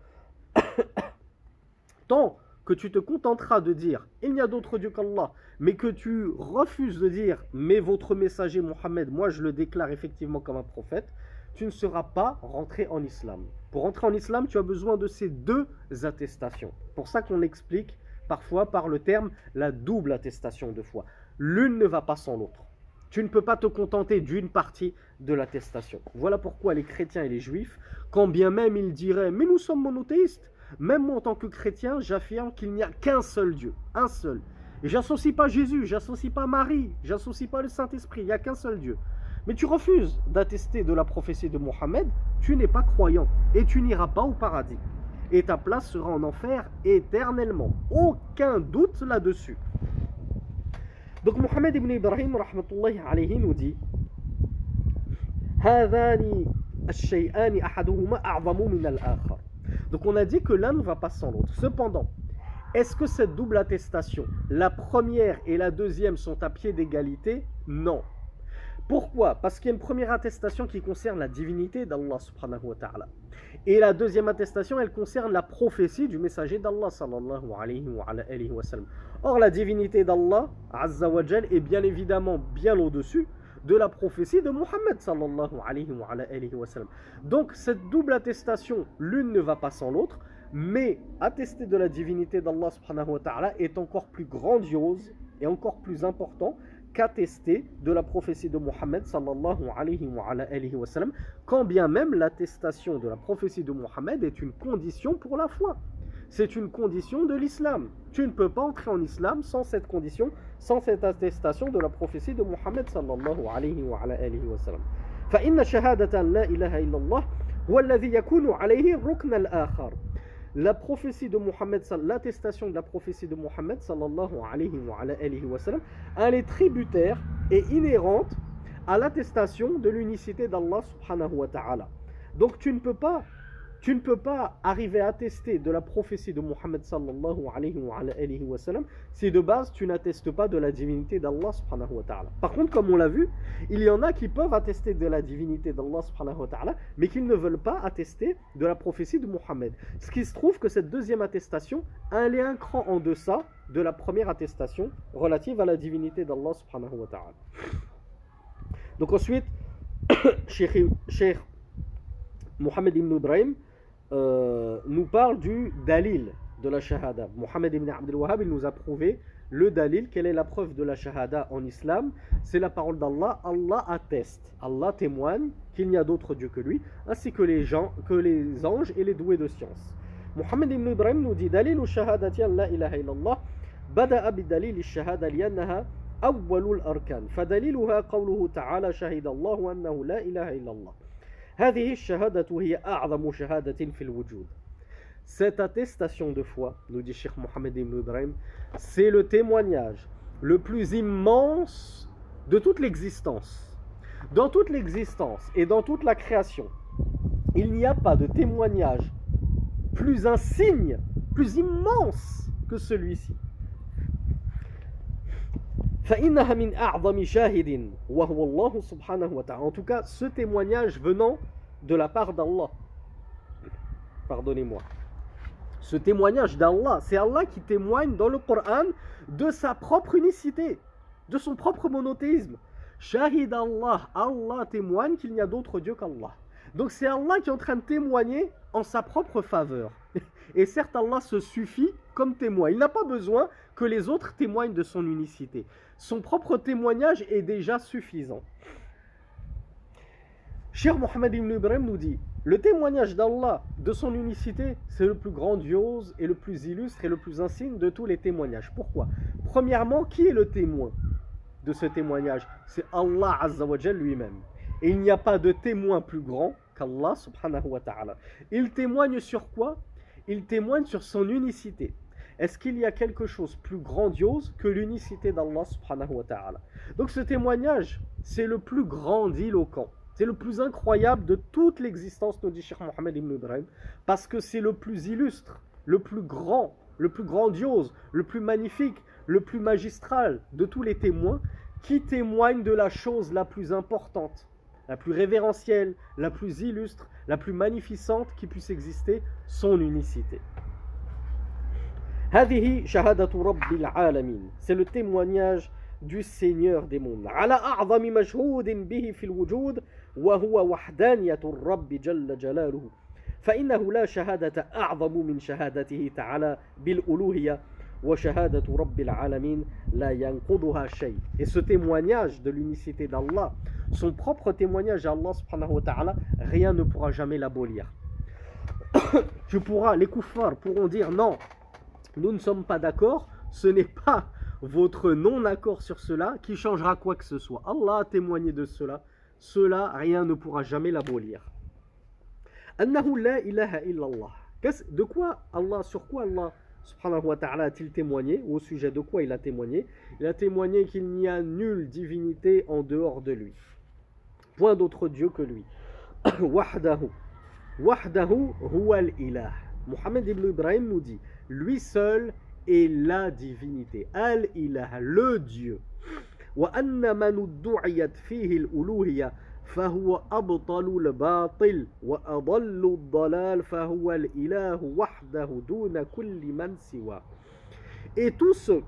tant que tu te contenteras de dire « il n'y a d'autre Dieu qu'Allah », mais que tu refuses de dire « mais votre messager Mohammed, moi je le déclare effectivement comme un prophète », tu ne seras pas rentré en islam. Pour rentrer en islam, tu as besoin de ces 2 attestations. Pour ça qu'on explique parfois par le terme la double attestation de foi. L'une ne va pas sans l'autre. Tu ne peux pas te contenter d'une partie de l'attestation. Voilà pourquoi les chrétiens et les juifs, quand bien même ils diraient « mais nous sommes monothéistes », même moi en tant que chrétien, j'affirme qu'il n'y a qu'un seul Dieu, un seul. Et j'associe pas Jésus, j'associe pas Marie, j'associe pas le Saint-Esprit, il n'y a qu'un seul Dieu. Mais tu refuses d'attester de la prophétie de Mohammed, tu n'es pas croyant et tu n'iras pas au paradis. Et ta place sera en enfer éternellement. Aucun doute là-dessus. Donc Mohammed ibn Ibrahim rahmatullahi alayhi nous dit هذان الشيئان أحدهما أعظم من الآخر. Donc on a dit que l'un ne va pas sans l'autre. Cependant, est-ce que cette double attestation, la première et la deuxième sont à pied d'égalité? Non. Pourquoi? Parce qu'il y a une première attestation qui concerne la divinité d'Allah subhanahu wa ta'ala. Et la deuxième attestation, elle concerne la prophétie du messager d'Allah sallallahu alayhi wa sallam. Or, la divinité d'Allah azza wa jal est bien évidemment bien au-dessus de la prophétie de Muhammad sallallahu alayhi wa sallam. Donc, cette double attestation, l'une ne va pas sans l'autre, mais attester de la divinité d'Allah subhanahu wa ta'ala est encore plus grandiose et encore plus important qu'attester de la prophétie de Muhammad sallallahu alayhi wa sallam, quand bien même l'attestation de la prophétie de Muhammad est une condition pour la foi. C'est une condition de l'islam. Tu ne peux pas entrer en islam sans cette condition, sans cette attestation de la prophétie de Muhammad sallallahu alayhi wa sallam. فإن شهادة لا إله إلا الله هو الذي يكون عليه الركن الآخر. La prophétie de Muhammad, l'attestation de la prophétie de Muhammad sallallahu alayhi wa sallam, elle est tributaire et inhérente à l'attestation de l'unicité d'Allah subhanahu wa ta'ala. Donc tu ne peux pas arriver à attester de la prophétie de Muhammad sallallahu alayhi wa sallam si de base tu n'attestes pas de la divinité d'Allah subhanahu wa ta'ala. Par contre, comme on l'a vu, il y en a qui peuvent attester de la divinité d'Allah subhanahu wa ta'ala, mais qui ne veulent pas attester de la prophétie de Muhammad. Ce qui se trouve que cette deuxième attestation, elle est un cran en deçà de la première attestation relative à la divinité d'Allah subhanahu wa ta'ala. Donc ensuite, Cheikh Mohammed ibn Ibrahim nous parle du dalil de la shahada. Mohammed ibn Abdul Wahhab, il nous a prouvé le dalil. Quelle est la preuve de la shahada en islam? C'est la parole d'Allah. Allah atteste, Allah témoigne qu'il n'y a d'autre Dieu que lui, ainsi que les anges et les doués de science. Mohammed ibn Ibrahim nous dit dalil shahadati an la ilaha illallah bada'a bidalil ash-shahada li'annaha awwalul arkan fadaliluha qawluhu ta'ala shahida Allahu annahu la ilaha illallah. هذه الشهادة هي أعظم شهادة في الوجود. Cette attestation de foi, nous dit Cheikh Mohammed ibn Ibrahim, c'est le témoignage le plus immense de toute l'existence. Dans toute l'existence et dans toute la création, il n'y a pas de témoignage plus insigne, plus immense que celui-ci. فإنها من أعظم شاهد وهو الله سبحانه وتعالى. En tout cas, ce témoignage venant de la part d'Allah. Pardonnez-moi. Ce témoignage d'Allah, c'est Allah qui témoigne dans le Coran de sa propre unicité, de son propre monothéisme. Shahid Allah, Allah témoigne qu'il n'y a d'autre Dieu qu'Allah. Donc c'est Allah qui est en train de témoigner en sa propre faveur. Et certes, Allah se suffit comme témoin. Il n'a pas besoin que les autres témoignent de son unicité. Son propre témoignage est déjà suffisant. Cheikh Mohammed ibn Ibrahim nous dit, le témoignage d'Allah de son unicité, c'est le plus grandiose et le plus illustre et le plus insigne de tous les témoignages. Pourquoi? Premièrement, qui est le témoin de ce témoignage? C'est Allah Azza wa Jal lui-même. Et il n'y a pas de témoin plus grand qu'Allah subhanahu wa ta'ala. Il témoigne sur quoi? Il témoigne sur son unicité. Est-ce qu'il y a quelque chose plus grandiose que l'unicité d'Allah subhanahu wa ta'ala? Donc ce témoignage, c'est le plus grandiloquent. C'est le plus incroyable de toute l'existence, nous dit Cheikh Mohammed ibn Ibrahim, parce que c'est le plus illustre, le plus grand, le plus grandiose, le plus magnifique, le plus magistral de tous les témoins qui témoignent de la chose la plus importante, la plus révérentielle, la plus illustre, la plus magnificente qui puisse exister, son unicité. هذه شهادة رب العالمين. C'est le témoignage du Seigneur des mondes. على أعظم مشهود به في الوجود وهو وحدانية الرب جل جلاله. فإنه لا شهادة أعظم من شهادته تعالى بالألوهية وشهادة رب العالمين لا ينقضها شيء. Et ce témoignage de l'unicité d'Allah, son propre témoignage à Allah subhanahu wa ta'ala, rien ne pourra jamais l'abolir. Les kuffars pourront dire non, nous ne sommes pas d'accord, ce n'est pas votre non-accord sur cela qui changera quoi que ce soit. Allah a témoigné de cela, rien ne pourra jamais l'abolir. Annahu la ilaha illallah. De quoi Allah, sur quoi Allah subhanahu wa ta'ala a-t-il témoigné, ou au sujet de quoi il a témoigné? Il a témoigné qu'il n'y a nulle divinité en dehors de lui. Point d'autre Dieu que lui. Wahdahu. Wahdahu huwa al-ilah. Mohammed ibn Ibrahim nous dit, lui seul est la divinité. Al-ilah, le Dieu. وأن من ادعيت فيه الألوهية فهو أبطل الباطل وأضل الضلال فهو الإله وحده دون كل من سواه. Et tous ceux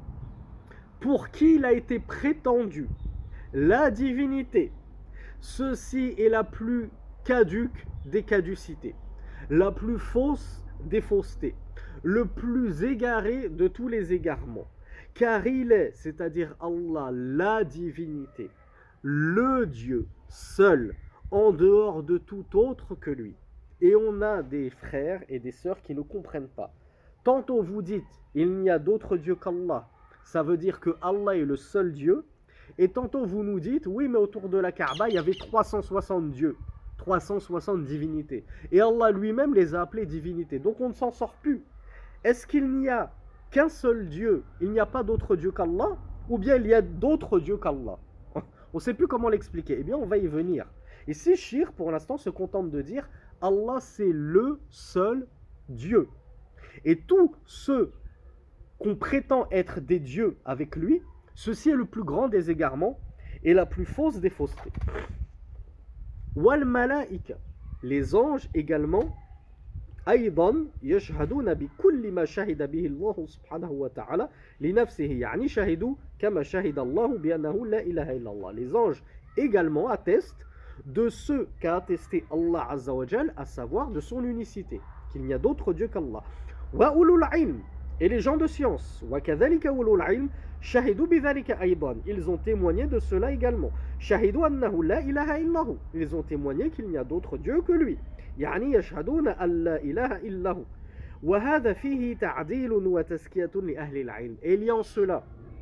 pour qui il a été prétendu la divinité, ceci est la plus caduque des caducités, la plus fausse des faussetés, le plus égaré de tous les égarements. Car il est, c'est-à-dire Allah, la divinité, le Dieu seul, en dehors de tout autre que lui. Et on a des frères et des sœurs qui ne comprennent pas. Tantôt vous dites, il n'y a d'autre Dieu qu'Allah, ça veut dire que Allah est le seul Dieu, et tantôt vous nous dites, oui mais autour de la Kaaba, il y avait 360 dieux, 360 divinités. Et Allah lui-même les a appelés divinités, donc on ne s'en sort plus. Est-ce qu'il n'y a qu'un seul Dieu, il n'y a pas d'autre Dieu qu'Allah, ou bien il y a d'autres dieux qu'Allah? On ne sait plus comment l'expliquer. Eh bien, on va y venir. Ici, Shir, pour l'instant, se contente de dire Allah, c'est le seul Dieu. Et tous ceux qu'on prétend être des dieux avec lui, ceci est le plus grand des égarements et la plus fausse des faussetés. Wal malaïka, les anges également, أيضا يشهدون بكل ما شهد به الله سبحانه وتعالى لنفسه يعني شهدوا كما شهد الله بأنه لا إله إلا الله. Les anges également attestent de ce qu'a attesté Allah Azza wa Jal, à savoir de son unicité, qu'il n'y a d'autre Dieu qu'Allah. Wa ulul ilm, et les gens de science, wa kadhalika ulul ilm shahidu bidhalika aydan, ils ont témoigné de cela également. Shahidu annahu la ilaha illahu, ils ont témoigné qu'il n'y a d'autre Dieu que lui. يعني يشهدون أن لا إله إلا هو وهذا فيه تعديل وتزكية لأهل العلم. Et il y a en cela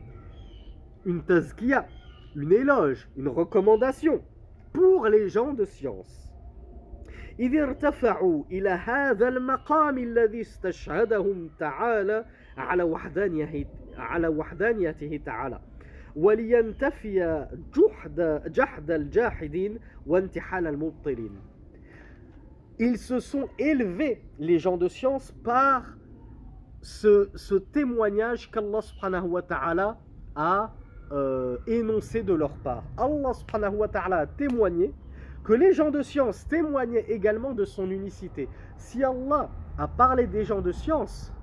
une tazkiya, une éloge, une recommandation pour les gens de science. إذ ارتفعوا إلى هذا المقام الذي استشهدهم تعالى على وحدانيته تعالى ولينتفي جحد الجاحدين وانتحال المبطلين. Ils se sont élevés, les gens de science, par ce témoignage qu'Allah subhanahu wa ta'ala a énoncé de leur part. Allah subhanahu wa ta'ala a témoigné que les gens de science témoignaient également de son unicité. Si Allah a parlé des gens de science,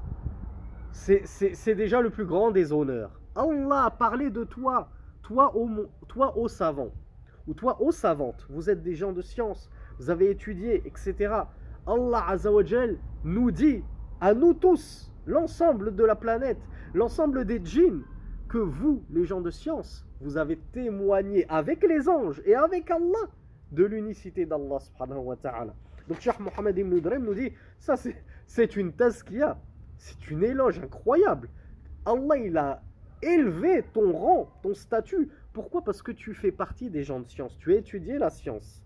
c'est déjà le plus grand des honneurs. Allah a parlé de toi, toi ô savant, ou toi ô savante, vous êtes des gens de science, vous avez étudié, etc. Allah Azza wa Jal nous dit, à nous tous, l'ensemble de la planète, l'ensemble des djinns, que vous, les gens de science, vous avez témoigné avec les anges et avec Allah de l'unicité d'Allah subhanahu wa ta'ala. Donc Cheikh Mohammed ibn Ibrahim nous dit, ça c'est une tazkiya, c'est une éloge incroyable. Allah il a élevé ton rang, ton statut. Pourquoi? Parce que tu fais partie des gens de science, tu as étudié la science.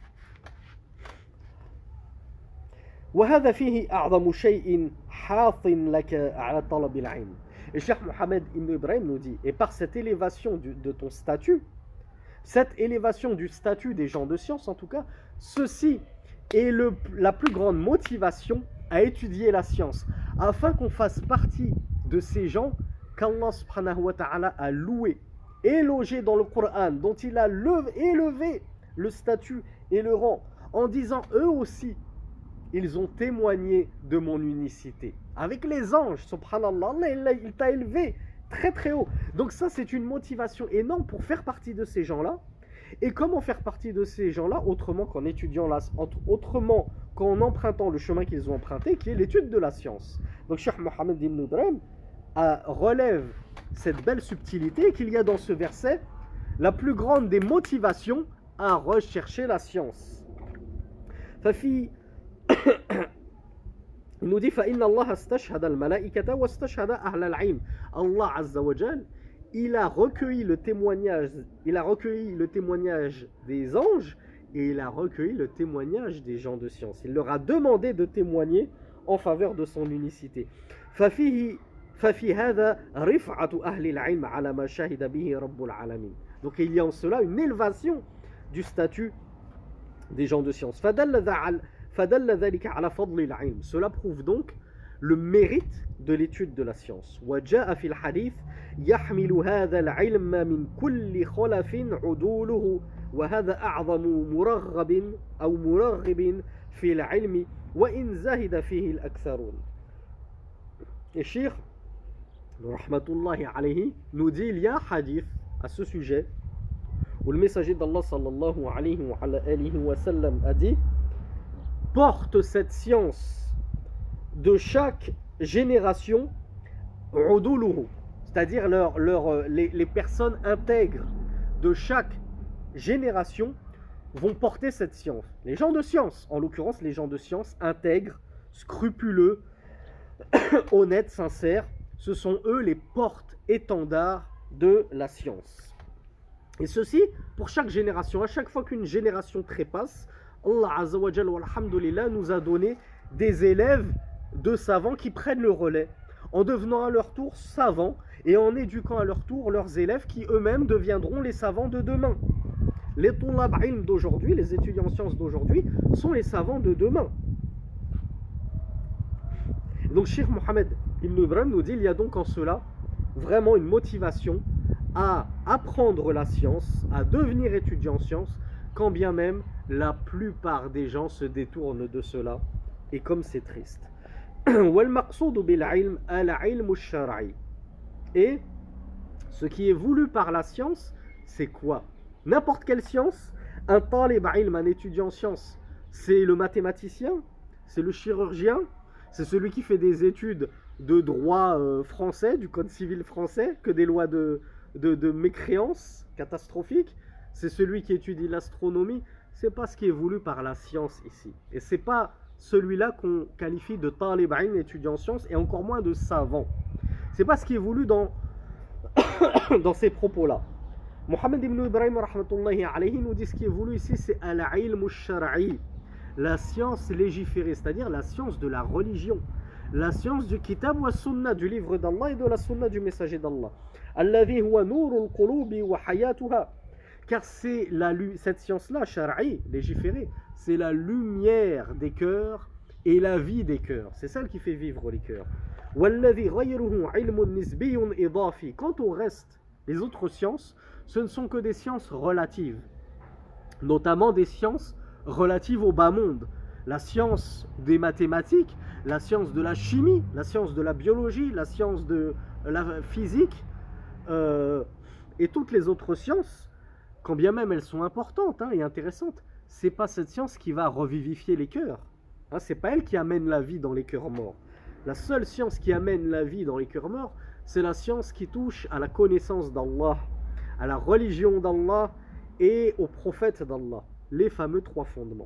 وهذا فيه أعظم شيء حاث لك على طلب العلم. Et Cheikh Mohammed ibn Ibrahim nous dit, et par cette élévation de ton statut, cette élévation du statut des gens de science en tout cas, ceci est la plus grande motivation à étudier la science, afin qu'on fasse partie de ces gens qu'Allah subhanahu wa ta'ala a loué, élogé dans le Coran, dont il a élevé le statut et le rang, en disant eux aussi, ils ont témoigné de mon unicité. Avec les anges, subhanallah, il t'a élevé très très haut. Donc ça, c'est une motivation énorme pour faire partie de ces gens-là. Et comment faire partie de ces gens-là autrement qu'en étudiant autrement qu'en empruntant le chemin qu'ils ont emprunté, qui est l'étude de la science. Donc Cheikh Mohammed ibn Ibrahim relève cette belle subtilité qu'il y a dans ce verset, la plus grande des motivations à rechercher la science. Fafi il nous dit فإن الله استشهد الملائكة واستشهد أهل العلم. Allah Azza wa Jal, il a recueilli le témoignage des anges et il a recueilli le témoignage des gens de science. Il leur a demandé de témoigner en faveur de son unicité. ففي هذا رفعة أهل العلم على ما شهد به رب العالمين. Donc il y a en cela une élévation du statut des gens de science. فدل ذلك على فضل العلم. Cela prouve donc le mérite de l'étude de la science. وجاء في الحديث يحمل هذا العلم من كل خلف عدوله وهذا أعظم مرغب أو مرغب في العلم وإن زهد فيه الأكثرون. Et Cheikh rahmatullahi alayhi nous dit, il y a un hadith à ce sujet où le messager d'Allah sallallahu alayhi wa sallam a dit: porte cette science de chaque génération uduluhu, c'est-à-dire les personnes intègres de chaque génération vont porter cette science. Les gens de science, en l'occurrence les gens de science intègres, scrupuleux, honnêtes, sincères, ce sont eux les porte-étendards de la science. Et ceci pour chaque génération. À chaque fois qu'une génération trépasse, Allah Azza wa Jalla walhamdulillah nous a donné des élèves de savants qui prennent le relais en devenant à leur tour savants et en éduquant à leur tour leurs élèves qui eux-mêmes deviendront les savants de demain. Les tulab ilm d'aujourd'hui, les étudiants en sciences d'aujourd'hui sont les savants de demain. Donc Cheikh Mohammed Ibn Ibrahim nous dit, il y a donc en cela vraiment une motivation à apprendre la science, à devenir étudiant en sciences, quand bien même la plupart des gens se détournent de cela. Et comme c'est triste. Et ce qui est voulu par la science, c'est quoi? N'importe quelle science. Un talib ilm, un étudiant en sciences, c'est le mathématicien, c'est le chirurgien, c'est celui qui fait des études de droit français, du code civil français, que des lois de mécréance catastrophiques. C'est celui qui étudie l'astronomie. C'est pas ce qui est voulu par la science ici. Et c'est pas celui-là qu'on qualifie de talib ilm, étudiant en sciences, et encore moins de savant. C'est pas ce qui est voulu dans ces propos-là. Mohammed ibn Ibrahim rahmatullahi alayhi nous dit ce qui est voulu ici, c'est al-ilm al-shar'i, la science légiférée, c'est-à-dire la science de la religion, la science du kitab wa sunnah, du livre d'Allah et de la sunnah du messager d'Allah. Alladhi huwa nurul qulubi wa hayatuha. Car c'est cette science-là, shar'i, légiférée, c'est la lumière des cœurs et la vie des cœurs. C'est celle qui fait vivre les cœurs. Walladhi ghayruhu ilmun nisbiyyun idafi. Quant au reste, les autres sciences, ce ne sont que des sciences relatives, notamment des sciences relatives au bas monde. La science des mathématiques, la science de la chimie, la science de la biologie, la science de la physique et toutes les autres sciences, quand bien même elles sont importantes et intéressantes, c'est pas cette science qui va revivifier les cœurs. C'est pas elle qui amène la vie dans les cœurs morts. La seule science qui amène la vie dans les cœurs morts, c'est la science qui touche à la connaissance d'Allah, à la religion d'Allah et au prophète d'Allah, les fameux trois fondements.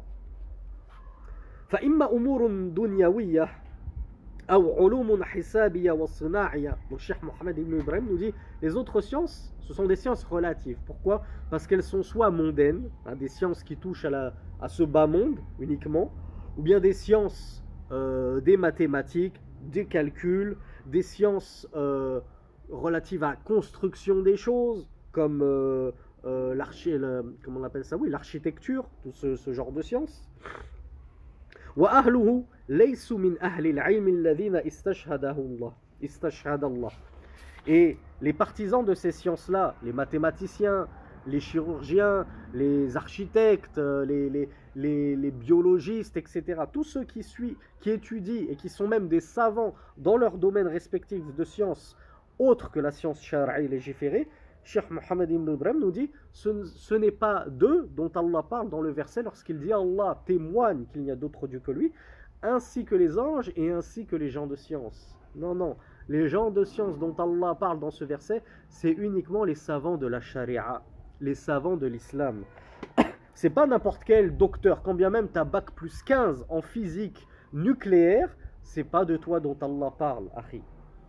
فإما أمور دنيوية أو علوم حسابية وصناعية. Donc Cheikh Mohammed Ibn Ibrahim nous dit, les autres sciences, ce sont des sciences relatives. Pourquoi? Parce qu'elles sont soit mondaines, des sciences qui touchent à ce bas monde uniquement, ou bien des sciences des mathématiques, des calculs, des sciences relatives à la construction des choses, comme comment on appelle ça? Oui, l'architecture, tout ce genre de sciences. وأهله ليسوا من أهل العلم الذين استشهد الله. Et les partisans de ces sciences-là, les mathématiciens, les chirurgiens, les architectes, les biologistes, etc., tous ceux qui étudient et qui sont même des savants dans leur domaine respectif de sciences autres que la science shar'i légiférée, Cheikh Mohammed Ibn Ibrahim nous dit, ce n'est pas d'eux dont Allah parle dans le verset lorsqu'il dit Allah témoigne qu'il n'y a d'autre Dieu que lui, ainsi que les anges et ainsi que les gens de science. Non, non, les gens de science dont Allah parle dans ce verset, c'est uniquement les savants de la charia, les savants de l'islam. C'est pas n'importe quel docteur, quand bien même tu as bac plus 15 en physique nucléaire, c'est pas de toi dont Allah parle, akhi.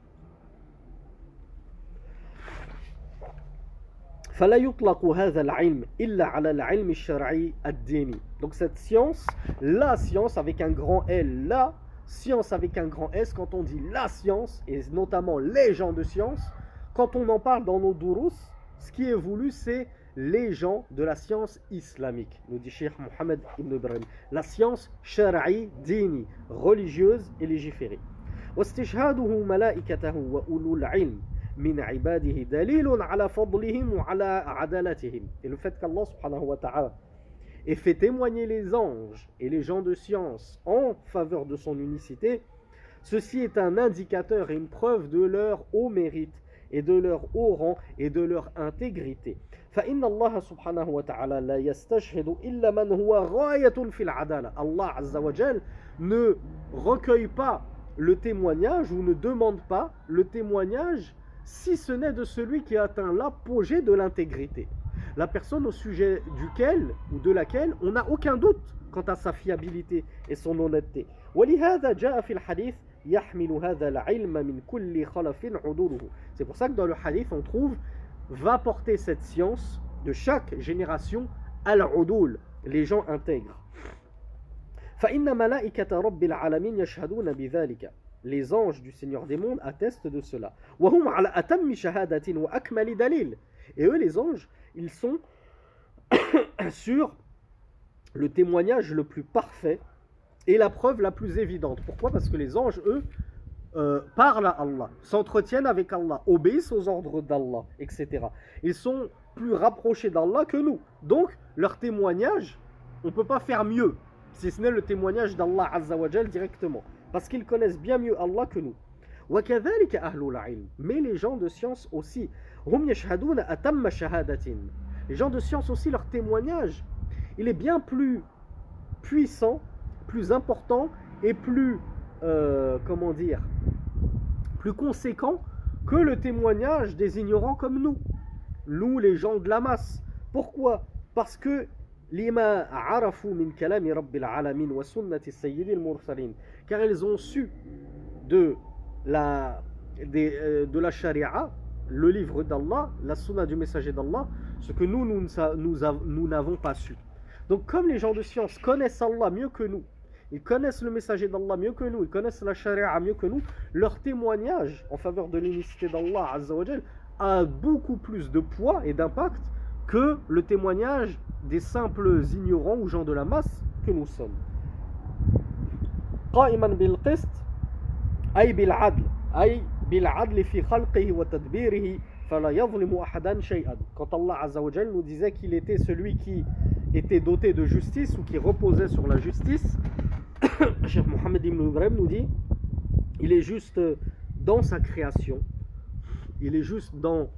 Donc cette science, la science avec un grand L, la science avec un grand S, quand on dit la science, et notamment les gens de science, quand on en parle dans nos durus, ce qui est voulu c'est les gens de la science islamique, nous dit Cheikh Mohammed ibn Ibrahim, la science shar'i, dini, religieuse et légiférée. واستشهاده ملائكته وأولو العلم من عباده دليل على فضلهم وعلى عدالتهم. Et le fait qu'Allah subhanahu wa ta'ala ait fait témoigner les anges et les gens de science en faveur de son unicité, ceci est un indicateur et une preuve de leur haut mérite et de leur haut rang et de leur intégrité. فإن الله سبحانه وتعالى لا يستشهد إلا من هو غاية في العدالة. Allah Azza wa Jal ne recueille pas le témoignage ou ne demande pas le témoignage si ce n'est de celui qui a atteint l'apogée de l'intégrité. La personne au sujet duquel ou de laquelle on n'a aucun doute quant à sa fiabilité et son honnêteté. ولهذا جاء في الحديث يحمل هذا العلم من كل خلف عدوله. C'est pour ça que dans le hadith on trouve va porter cette science de chaque génération al-udul, les gens intègres. فإن ملائكة رب العالمين يشهدون بذلك. Les anges du Seigneur des mondes attestent de cela. وهم على أتم شهادة وأكمل دليل. Et eux les anges, ils sont sur le témoignage le plus parfait et la preuve la plus évidente. Pourquoi? Parce que les anges, eux, parlent à Allah, s'entretiennent avec Allah, obéissent aux ordres d'Allah, etc. Ils sont plus rapprochés d'Allah que nous. Donc, leur témoignage, on ne peut pas faire mieux, si ce n'est le témoignage d'Allah Azza wa Jal directement. Parce qu'ils connaissent bien mieux Allah que nous. وَكَذَلِكَ أَهْلُ الْعِلْمِ. Mais les gens de science aussi. هُمْ يَشْهَدُونَ أَتَمَّ شَهَادَةٍ. Les gens de science aussi, leur témoignage, il est bien plus puissant, plus important et plus, comment dire, plus conséquent que le témoignage des ignorants comme nous les gens de la masse. Pourquoi? Parce que لما عرفوا من كلام رب العالمين وسنة السيد المرسلين, car ils ont su de la charia, le livre d'Allah, la sunna du messager d'Allah, ce que nous n'avons pas su. Donc comme les gens de science connaissent Allah mieux que nous, ils connaissent le messager d'Allah mieux que nous, ils connaissent la charia mieux que nous, leur témoignage en faveur de l'unicité d'Allah Azza wa Jal a beaucoup plus de poids et d'impact que le témoignage des simples ignorants ou gens de la masse que nous sommes. قائما بالقسط أي بالعدل أي بالعدل في خلقه وتدبيره فلا يظلم أحدا شيئا. Quand Allah Azza wa Jal nous disait qu'il était celui qui était doté de justice ou qui reposait sur la justice, Cheikh Mohammed ibn Ibrahim nous dit il est juste dans sa création, il est juste dans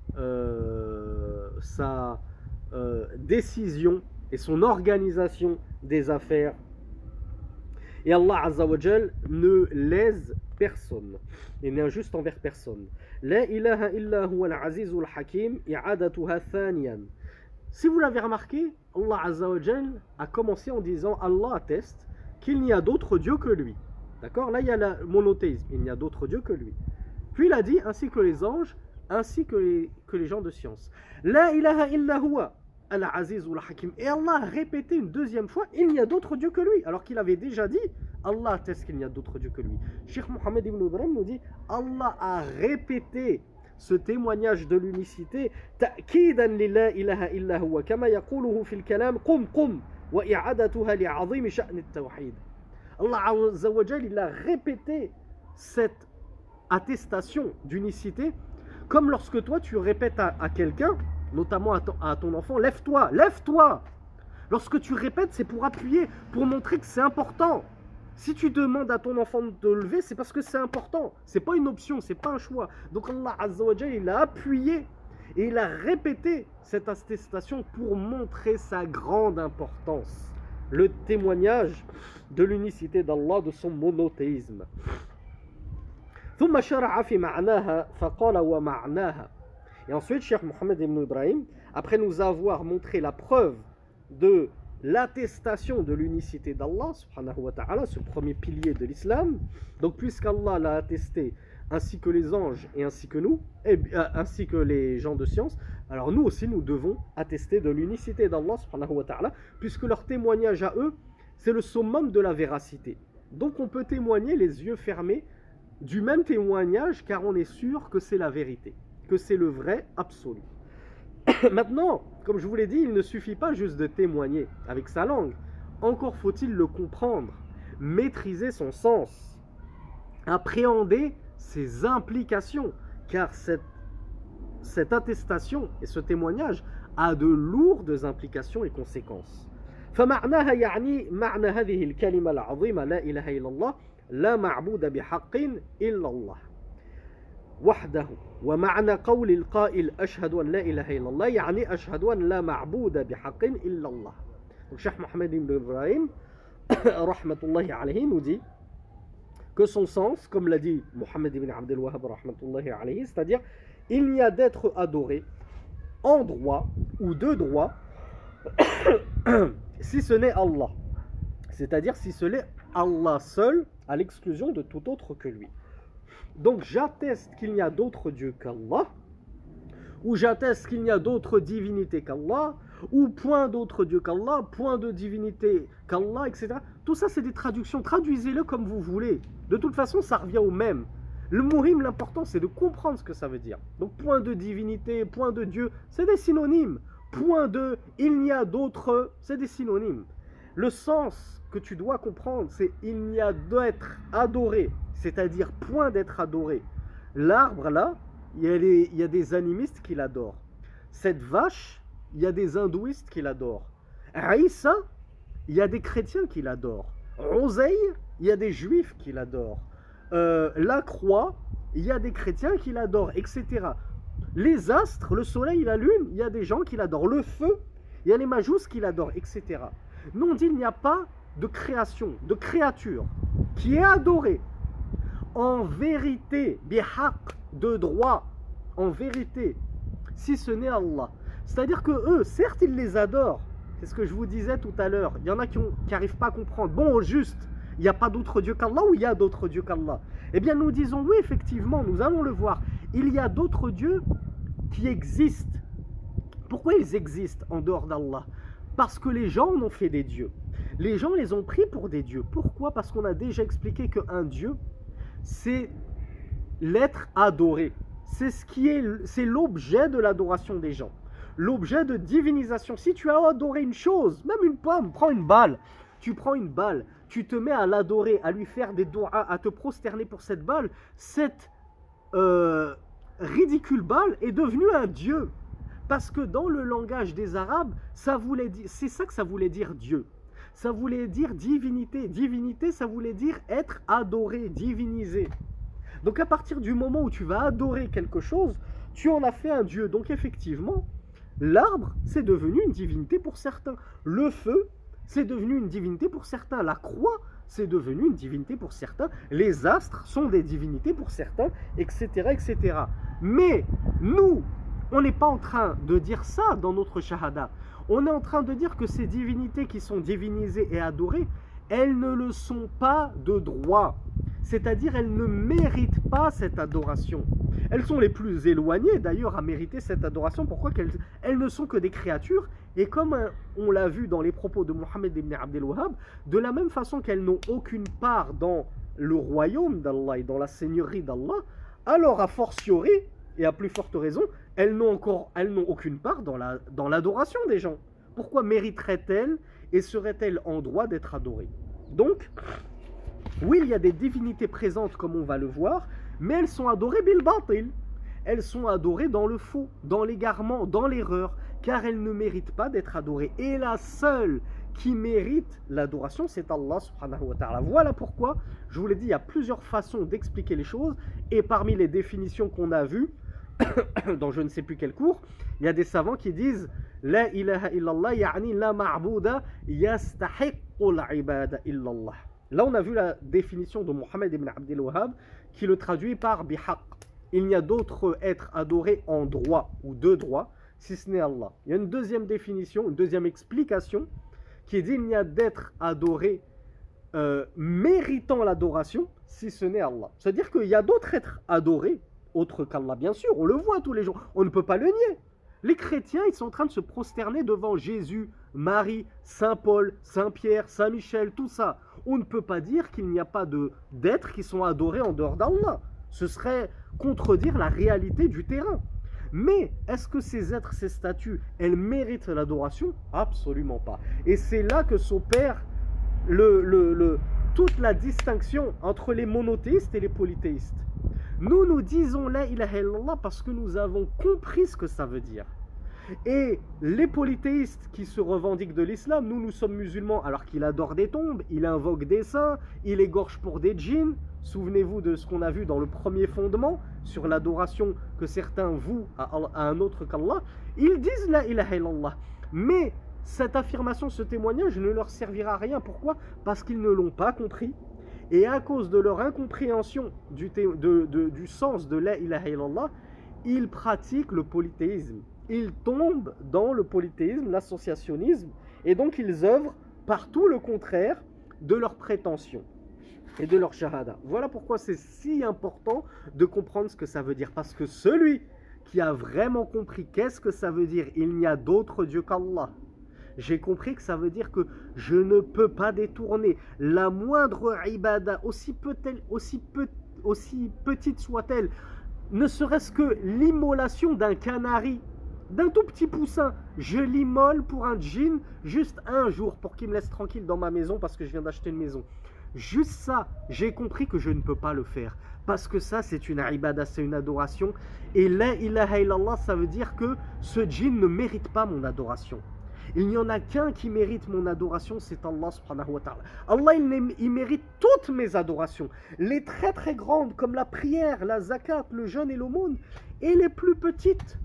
sa décision et son organisation des affaires. Et Allah Azza wa Jal ne lèse personne et n'est injuste envers personne. La ilaha illa huwa al-azizul hakim i'adatuha thaniyan. Si vous l'avez remarqué, Allah Azza wa Jal a commencé en disant Allah atteste qu'il n'y a d'autre Dieu que lui. D'accord? Là il y a le monothéisme, il n'y a d'autre Dieu que lui. Puis il a dit ainsi que les anges, ainsi que les gens de science. La ilaha illa huwa al-azizul hakim. Et Allah a répété une deuxième fois, il n'y a d'autre Dieu que lui, alors qu'il avait déjà dit, Allah atteste qu'il n'y a d'autre Dieu que lui. Cheikh Mohammed ibn Ibrahim nous dit, Allah a répété ce témoignage de l'unicité, ta'kidan li la ilaha illa huwa, kama yaquluhu fil kalam, qum qum, wa i'adatuha li'azim sha'n at-tawhid. Allah Azza wa Jal, il a répété cette attestation d'unicité, comme lorsque toi tu répètes à quelqu'un, notamment à ton enfant, lève-toi, lève-toi. Lorsque tu répètes, c'est pour appuyer, pour montrer que c'est important. Si tu demandes à ton enfant de te lever, c'est parce que c'est important. C'est pas une option, c'est pas un choix. Donc Allah Azza wa Jal, il a appuyé et il a répété cette attestation pour montrer sa grande importance. Le témoignage de l'unicité d'Allah, de son monothéisme. ثم شرع في معناها فقال ومعناها. Et ensuite, Cheikh Mohammed ibn Ibrahim, après nous avoir montré la preuve de l'attestation de l'unicité d'Allah, subhanahu wa ta'ala, ce premier pilier de l'islam, donc puisqu'Allah l'a attesté, ainsi que les anges et ainsi que nous, ainsi que les gens de science, alors nous aussi nous devons attester de l'unicité d'Allah, subhanahu wa ta'ala, puisque leur témoignage à eux, c'est le summum de la véracité. Donc on peut témoigner les yeux fermés du même témoignage, car on est sûr que c'est la vérité, que c'est le vrai absolu. Maintenant, comme je vous l'ai dit, il ne suffit pas juste de témoigner avec sa langue. Encore faut-il le comprendre, maîtriser son sens, appréhender ses implications, car cette attestation et ce témoignage a de lourdes implications et conséquences. فمعناها يعني معنى هذه الكلمة العظيمة لا إله إلا الله لا معبود بحق إلا الله وحده ومعنى قول القائل أشهد أن لا إله إلا الله يعني أشهد أن لا معبود بحق إلا الله. Donc Cheikh Mohammed ibn Ibrahim rahmatullahi alayhi nous dit que son sens, comme l'a dit Mohammed ibn Abdel Wahhab rahmatullahi alayhi, c'est-à-dire il n'y a d'être adoré en droit ou de droit si ce n'est Allah, c'est-à-dire si ce n'est Allah seul à l'exclusion de tout autre que lui. Donc j'atteste qu'il n'y a d'autres dieux qu'Allah, ou j'atteste qu'il n'y a d'autres divinités qu'Allah, ou point d'autres dieux qu'Allah, point de divinité qu'Allah, etc. Tout ça c'est des traductions, traduisez-le comme vous voulez. De toute façon ça revient au même. Le muhim, l'important c'est de comprendre ce que ça veut dire. Donc point de divinité, point de Dieu, c'est des synonymes. Point de il n'y a d'autres, c'est des synonymes. Le sens que tu dois comprendre, c'est il n'y a d'être adoré, c'est-à-dire point d'être adoré. L'arbre là, il y a des animistes qui l'adorent. Cette vache, il y a des hindouistes qui l'adorent. Aïssa, il y a des chrétiens qui l'adorent. Oseille, il y a des juifs qui l'adorent. La croix, il y a des chrétiens qui l'adorent, etc. Les astres, le soleil, la lune, il y a des gens qui l'adorent. Le feu, il y a les majous qui l'adorent, etc. Nous on dit il n'y a pas de création, de créature qui est adorée en vérité, bihaq, de droit, en vérité, si ce n'est Allah. C'est-à-dire que eux, certes ils les adorent, c'est ce que je vous disais tout à l'heure, il y en a qui n'arrivent pas à comprendre. Bon, au juste, il n'y a pas d'autre Dieu qu'Allah ou il y a d'autres dieux qu'Allah? Eh bien nous disons oui, effectivement, nous allons le voir. Il y a d'autres dieux qui existent. Pourquoi ils existent en dehors d'Allah? Parce que les gens en ont fait des dieux. Les gens les ont pris pour des dieux. Pourquoi? Parce qu'on a déjà expliqué qu'un dieu, c'est l'être adoré. C'est l'objet de l'adoration des gens. L'objet de divinisation. Si tu as adoré une chose, même une pomme, prends une balle. Tu prends une balle, tu te mets à l'adorer, à lui faire des doigts, à te prosterner pour cette balle. Cette ridicule balle est devenue un dieu. Parce que dans le langage des Arabes, c'est ça que ça voulait dire Dieu. Ça voulait dire divinité. Divinité, ça voulait dire être adoré, divinisé. Donc à partir du moment où tu vas adorer quelque chose, tu en as fait un Dieu. Donc effectivement, l'arbre, c'est devenu une divinité pour certains. Le feu, c'est devenu une divinité pour certains. La croix, c'est devenu une divinité pour certains. Les astres sont des divinités pour certains, etc., etc. Mais nous, on n'est pas en train de dire ça dans notre shahada. On est en train de dire que ces divinités qui sont divinisées et adorées, elles ne le sont pas de droit. C'est-à-dire, elles ne méritent pas cette adoration. Elles sont les plus éloignées d'ailleurs à mériter cette adoration. Pourquoi? Elles ne sont que des créatures. Et comme on l'a vu dans les propos de Mohammed ibn Abdel Wahhab, de la même façon qu'elles n'ont aucune part dans le royaume d'Allah et dans la seigneurie d'Allah, alors a fortiori, et à plus forte raison, elles n'ont aucune part dans l'adoration des gens. Pourquoi mériteraient-elles et seraient-elles en droit d'être adorées? Donc, oui, il y a des divinités présentes comme on va le voir, mais elles sont adorées bil batil. Elles sont adorées dans le faux, dans l'égarement, dans l'erreur, car elles ne méritent pas d'être adorées. Et la seule qui mérite l'adoration, c'est Allah subhanahu wa ta'ala. Voilà pourquoi, je vous l'ai dit, il y a plusieurs façons d'expliquer les choses, et parmi les définitions qu'on a vues, dans je ne sais plus quel cours, il y a des savants qui disent La ilaha illallah ya'ni la ma'bouda yastahiqqul ibada illallah. Là on a vu la définition de Mohammed ibn Abdel Wahhab qui le traduit par bihaq. Il n'y a d'autre être adoré en droit ou de droit si ce n'est Allah. Il y a une deuxième définition, une deuxième explication qui dit il n'y a d'être adoré méritant l'adoration si ce n'est Allah. C'est-à-dire qu'il y a d'autres êtres adorés autre qu'Allah, bien sûr, on le voit tous les jours, on ne peut pas le nier. Les chrétiens, ils sont en train de se prosterner devant Jésus, Marie, Saint Paul, Saint Pierre, Saint Michel, tout ça. On ne peut pas dire qu'il n'y a pas d'êtres qui sont adorés en dehors d'Allah. Ce serait contredire la réalité du terrain. Mais est-ce que ces êtres, ces statues, elles méritent l'adoration? Absolument pas. Et c'est là que s'opère toute la distinction entre les monothéistes et les polythéistes. Nous disons la ilaha illallah parce que nous avons compris ce que ça veut dire. Et les polythéistes qui se revendiquent de l'islam, nous sommes musulmans alors qu'il adore des tombes, il invoque des saints, il égorge pour des djinns. Souvenez-vous de ce qu'on a vu dans le premier fondement sur l'adoration que certains vouent à un autre qu'Allah. Ils disent la ilaha illallah. Mais cette affirmation, ce témoignage ne leur servira à rien. Pourquoi? Parce qu'ils ne l'ont pas compris. Et à cause de leur incompréhension du sens de la ilaha illallah, ils pratiquent le polythéisme. Ils tombent dans le polythéisme, l'associationnisme, et donc ils œuvrent par tout le contraire de leurs prétentions et de leur shahada. Voilà pourquoi c'est si important de comprendre ce que ça veut dire. Parce que celui qui a vraiment compris qu'est-ce que ça veut dire, il n'y a d'autre Dieu qu'Allah. J'ai compris que ça veut dire que je ne peux pas détourner la moindre ibada, aussi petite soit-elle, ne serait-ce que l'immolation d'un canari, d'un tout petit poussin. Je l'immole pour un djinn juste un jour pour qu'il me laisse tranquille dans ma maison parce que je viens d'acheter une maison. Juste ça, j'ai compris que je ne peux pas le faire. Parce que ça, c'est une ibada, c'est une adoration. Et la ilaha illallah, ça veut dire que ce djinn ne mérite pas mon adoration. Il n'y en a qu'un qui mérite mon adoration, c'est Allah subhanahu wa ta'ala. Allah, il mérite toutes mes adorations. Les très très grandes, comme la prière, la zakat, le jeûne et l'aumône. Et les plus petites.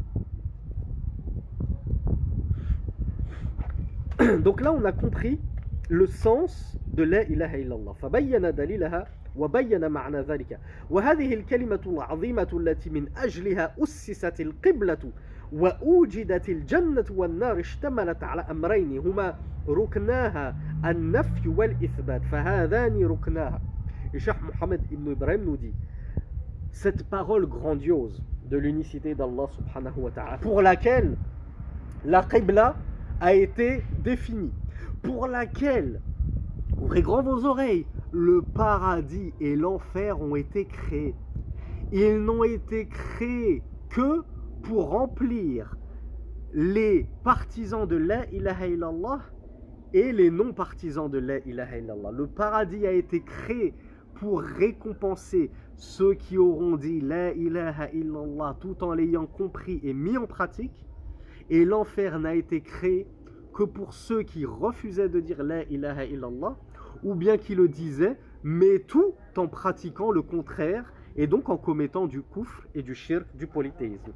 Donc là, on a compris le sens de la ilaha illallah. فبين دليلها وبين معنى ذلك. وهذه الكلمة العظيمة التي من أجلها أسست القبلة وأوجدت الجنة والنار اشتملت على أمرين هما ركناها النفي والإثبات فهذان ركناها. Et Cheikh Mohammed ibn Ibrahim nous dit cette parole grandiose de l'unicité d'Allah subhanahu wa ta'ala pour laquelle la qibla a été définie, pour laquelle, ouvrez grand vos oreilles, le paradis et l'enfer ont été créés. Ils n'ont été créés que pour remplir les partisans de la ilaha illallah et les non-partisans de la ilaha illallah. Le paradis a été créé pour récompenser ceux qui auront dit la ilaha illallah tout en l'ayant compris et mis en pratique. Et l'enfer n'a été créé que pour ceux qui refusaient de dire la ilaha illallah ou bien qui le disaient, mais tout en pratiquant le contraire et donc en commettant du kufr et du shirk, du polythéisme.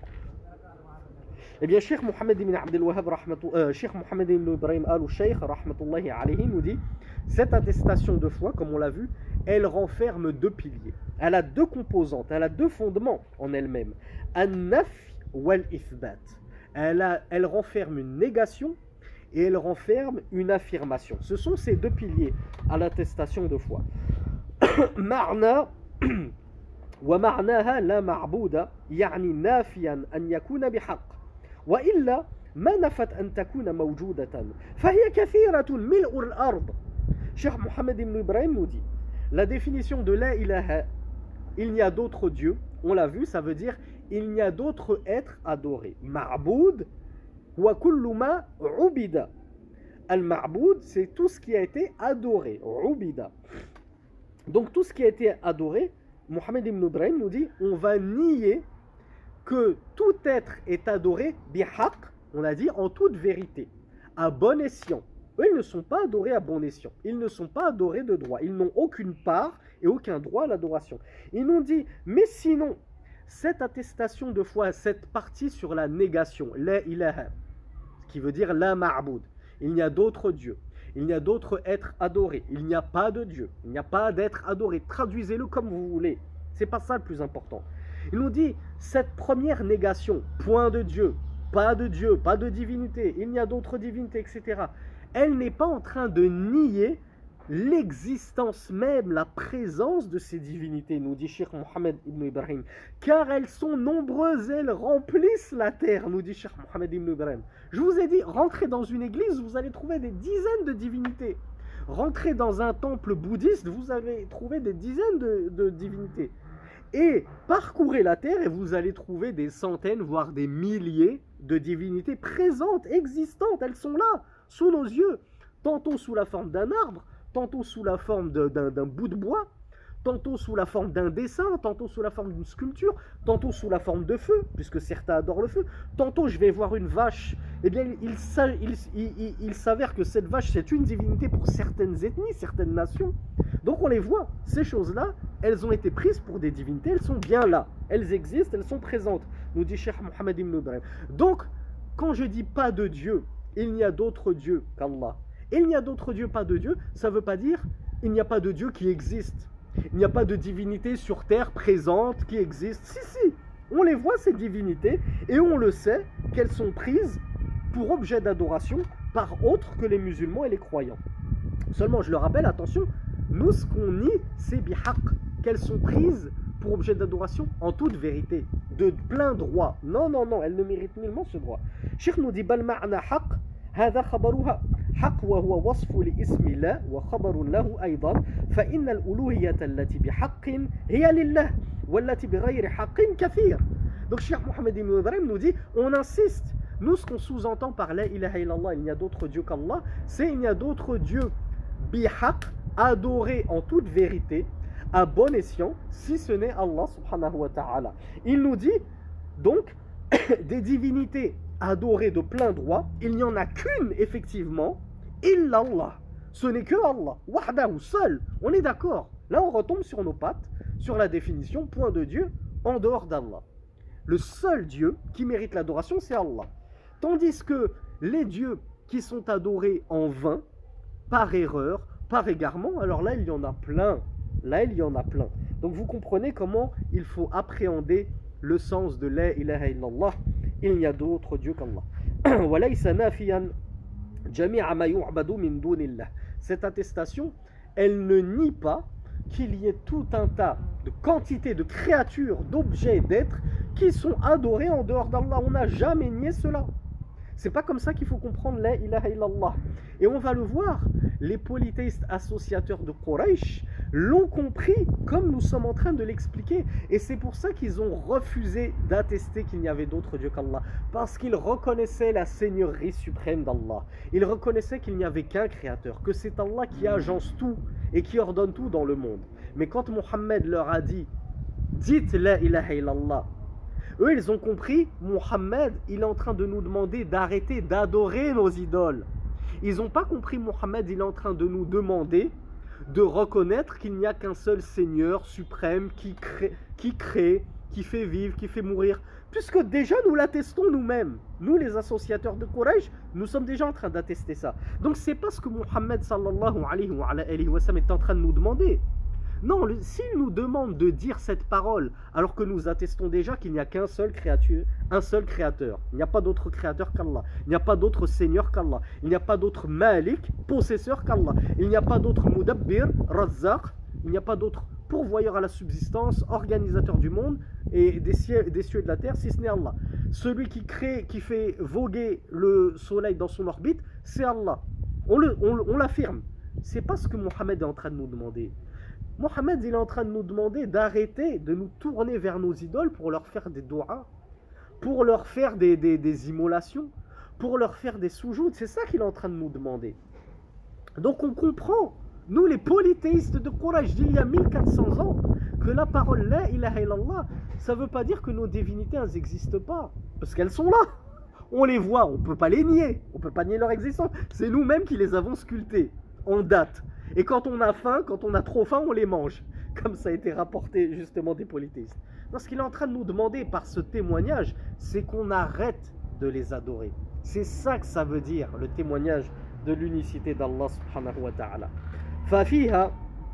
Eh bien, Cheikh Mohammed ibn Abdel Wahhab, Cheikh Mohammed ibn Ibrahim al-Sheikh, rahmatullahi alayhi, nous dit cette attestation de foi, comme on l'a vu, elle renferme deux piliers. Elle a deux composantes, elle a deux fondements en elle-même. An-naf wal-ithbat. Elle renferme une négation et elle renferme une affirmation. Ce sont ces deux piliers à l'attestation de foi. Ma'na wa ma'naha la ma'bouda, yani nafiyan an yakuna bihaq. Wa illa ma nafat an takuna mawjudatan. Fahiya kathiratun mil'u al-ard. Cheikh Mohammed ibn Ibrahim nous dit la définition de la ilaha, il n'y a d'autre Dieu, on l'a vu, ça veut dire il n'y a d'autre être adoré. Ma'boud wa kullu ma ubida. Al-ma'boud, c'est tout ce qui a été adoré. Ubida. Donc tout ce qui a été adoré, Mohammed ibn Ibrahim nous dit on va nier que tout être est adoré bihaq, on a dit en toute vérité, à bon escient. Eux, ils ne sont pas adorés à bon escient. Ils ne sont pas adorés de droit. Ils n'ont aucune part et aucun droit à l'adoration. Ils nous dit, mais sinon, cette attestation de foi, cette partie sur la négation, la ilaha, ce qui veut dire la ma'boud, il n'y a d'autre Dieu, il n'y a d'autre être adoré, il n'y a pas de Dieu, il n'y a pas d'être adoré. Traduisez-le comme vous voulez. C'est pas ça le plus important. Il nous dit, cette première négation, point de Dieu, pas de divinité, il n'y a d'autre divinité, etc. Elle n'est pas en train de nier l'existence même, la présence de ces divinités, nous dit Cheikh Mohammed ibn Ibrahim, car elles sont nombreuses, elles remplissent la terre, nous dit Cheikh Mohammed ibn Ibrahim. Je vous ai dit, rentrez dans une église, vous allez trouver des dizaines de divinités. Rentrez dans un temple bouddhiste, vous allez trouver des dizaines de divinités. Et parcourez la terre et vous allez trouver des centaines, voire des milliers de divinités présentes, existantes. Elles sont là, sous nos yeux. Tantôt sous la forme d'un arbre, tantôt sous la forme d'un bout de bois, tantôt sous la forme d'un dessin, tantôt sous la forme d'une sculpture, tantôt sous la forme de feu, puisque certains adorent le feu. Tantôt je vais voir une vache, eh bien il s'avère que cette vache c'est une divinité pour certaines ethnies, certaines nations. Donc on les voit, ces choses-là, elles ont été prises pour des divinités, elles sont bien là, elles existent, elles sont présentes, nous dit Cheikh Mohammed ibn Ibrahim. Donc quand je dis pas de Dieu, il n'y a d'autre Dieu qu'Allah. Il n'y a d'autre Dieu, pas de Dieu, ça ne veut pas dire il n'y a pas de Dieu qui existe. Il n'y a pas de divinité sur terre présente qui existe. Si, si, on les voit ces divinités et on le sait qu'elles sont prises pour objet d'adoration par autres que les musulmans et les croyants. Seulement, je le rappelle, attention, nous ce qu'on nie, c'est bihaq, qu'elles sont prises pour objet d'adoration en toute vérité, de plein droit. Non, non, non, elles ne méritent nullement ce droit. Cheikh nous dit, bal ma'na haq, هذا خبرها حق وهو وصف لاسم الله وخبر له أيضا فإن الألوهية التي بحق هي لله والتي بغير حق كثير. Donc Cheikh Mohammed ibn Ibrahim nous dit, on insiste, nous ce qu'on sous-entend par la ilaha illallah, il n'y a d'autre Dieu qu'Allah, c'est il n'y a d'autre Dieu bihaq, adoré en toute vérité, à bon escient, si ce n'est Allah subhanahu wa ta'ala. Il nous dit donc des divinités adorées de plein droit, il n'y en a qu'une effectivement, illallah. Ce n'est que Allah, wahdahu, seul. On est d'accord. Là on retombe sur nos pattes, sur la définition, point de Dieu en dehors d'Allah. Le seul Dieu qui mérite l'adoration, c'est Allah. Tandis que les dieux qui sont adorés en vain, par erreur, par égarement, alors là il y en a plein. Là il y en a plein. Donc vous comprenez comment il faut appréhender le sens de la ilaha illallah. Il n'y a d'autre Dieu qu'Allah. Cette attestation, elle ne nie pas qu'il y ait tout un tas de quantités de créatures, d'objets, d'êtres qui sont adorés en dehors d'Allah. On n'a jamais nié cela. C'est pas comme ça qu'il faut comprendre la ilaha illallah. Et on va le voir, les polythéistes associateurs de Quraysh l'ont compris comme nous sommes en train de l'expliquer. Et c'est pour ça qu'ils ont refusé d'attester qu'il n'y avait d'autre Dieu qu'Allah. Parce qu'ils reconnaissaient la seigneurie suprême d'Allah. Ils reconnaissaient qu'il n'y avait qu'un créateur, que c'est Allah qui agence tout et qui ordonne tout dans le monde. Mais quand Mohammed leur a dit « Dites la ilaha illallah », eux, ils ont compris, Mohammed, il est en train de nous demander d'arrêter d'adorer nos idoles. Ils n'ont pas compris, Mohammed, il est en train de nous demander de reconnaître qu'il n'y a qu'un seul Seigneur suprême qui crée, qui fait vivre, qui fait mourir. Puisque déjà, nous l'attestons nous-mêmes. Nous, les associateurs de Quraysh, nous sommes déjà en train d'attester ça. Donc, c'est pas ce que Mohammed, sallallahu alayhi wa sallam, est en train de nous demander. Non, s'il nous demande de dire cette parole, alors que nous attestons déjà qu'il n'y a qu'un seul créateur, il n'y a pas d'autre créateur qu'Allah, il n'y a pas d'autre seigneur qu'Allah, il n'y a pas d'autre malik, possesseur qu'Allah, il n'y a pas d'autre mudabbir, razzaq, il n'y a pas d'autre pourvoyeur à la subsistance, organisateur du monde et des cieux et de la terre, si ce n'est Allah. Celui qui crée, qui fait voguer le soleil dans son orbite, c'est Allah. On l'affirme. C'est pas ce que Mohammed est en train de nous demander. Mohammed, il est en train de nous demander d'arrêter de nous tourner vers nos idoles pour leur faire des doigts, pour leur faire des immolations, pour leur faire des soujoutes. C'est ça qu'il est en train de nous demander. Donc on comprend, nous les polythéistes de Quraysh d'il y a 1400 ans, que la parole la ilaha illallah, ça ne veut pas dire que nos divinités n'existent pas, parce qu'elles sont là. On les voit, on ne peut pas les nier, on ne peut pas nier leur existence. C'est nous-mêmes qui les avons sculptées, en date. Et quand on a faim, quand on a trop faim, on les mange. Comme ça a été rapporté justement des polythéistes. Donc ce qu'il est en train de nous demander par ce témoignage, c'est qu'on arrête de les adorer. C'est ça que ça veut dire, le témoignage de l'unicité d'Allah subhanahu wa ta'ala. Fafiha,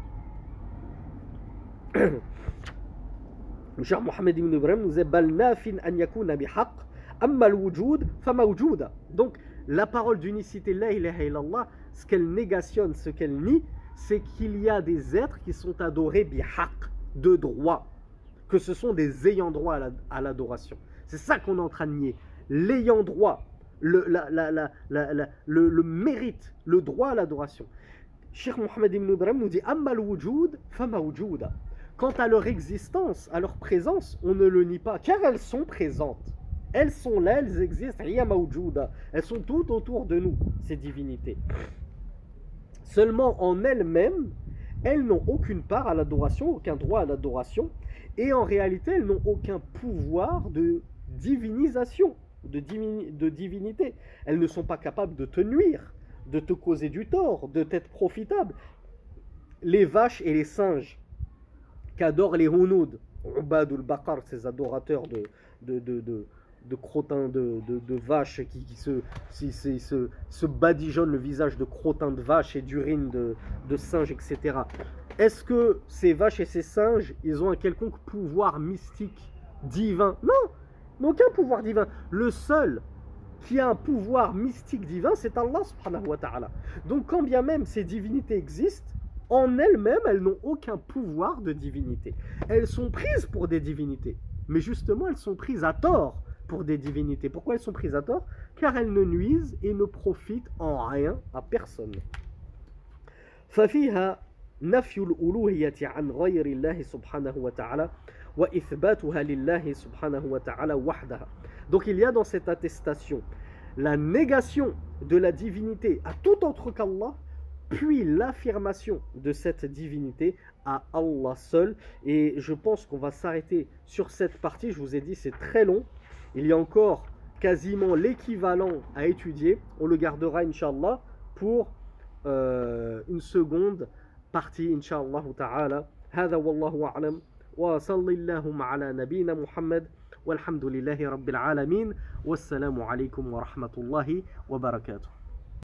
le cher Mohammed ibn Ibrahim nous dit bal nafin an yakuna bihaq amma al-wujud fa mawjuda. Donc la parole d'unicité la ilaha illallah, ce qu'elle négationne, ce qu'elle nie, c'est qu'il y a des êtres qui sont adorés bihaq, de droit, que ce sont des ayants droit à l'adoration. C'est ça qu'on est en train de nier. L'ayant droit, le mérite, le droit à l'adoration. Cheikh Mohammed ibn Ibrahim nous dit amma al-wujud fa mawjuda. Quant à leur existence, à leur présence, on ne le nie pas, car elles sont présentes. Elles sont là, elles existent. Elles sont toutes autour de nous, ces divinités. Seulement en elles-mêmes, elles n'ont aucune part à l'adoration, aucun droit à l'adoration, et en réalité, elles n'ont aucun pouvoir de divinisation, de divinité. Elles ne sont pas capables de te nuire, de te causer du tort, de t'être profitable. Les vaches et les singes qu'adorent les Hounoud, Ubadul Bakar, ces adorateurs de crottins de vaches qui se badigeonnent le visage de crottins de vaches et d'urine de singes, etc. Est-ce que ces vaches et ces singes, ils ont un quelconque pouvoir mystique, divin? Non, aucun pouvoir divin. Le seul qui a un pouvoir mystique divin, c'est Allah subhanahu wa ta'ala. Donc quand bien même ces divinités existent, en elles-mêmes, elles n'ont aucun pouvoir de divinité. Elles sont prises pour des divinités. Mais justement, elles sont prises à tort pour des divinités. Pourquoi elles sont prises à tort? Car elles ne nuisent et ne profitent en rien à personne. ففيها نفي الألوهية عن غير الله سبحانه وتعالى وإثباتها لله سبحانه وتعالى وحدها. Donc il y a dans cette attestation la négation de la divinité à tout autre qu'Allah, puis l'affirmation de cette divinité à Allah seul. Et je pense qu'on va s'arrêter sur cette partie. Je vous ai dit, c'est très long. Il y a encore quasiment l'équivalent à étudier. On le gardera, Inch'Allah, pour une seconde partie, Inch'Allah ta'ala. هذا والله أعلم وصلى اللهم على نبينا محمد والحمد لله رب العالمين والسلام عليكم ورحمة الله وبركاته.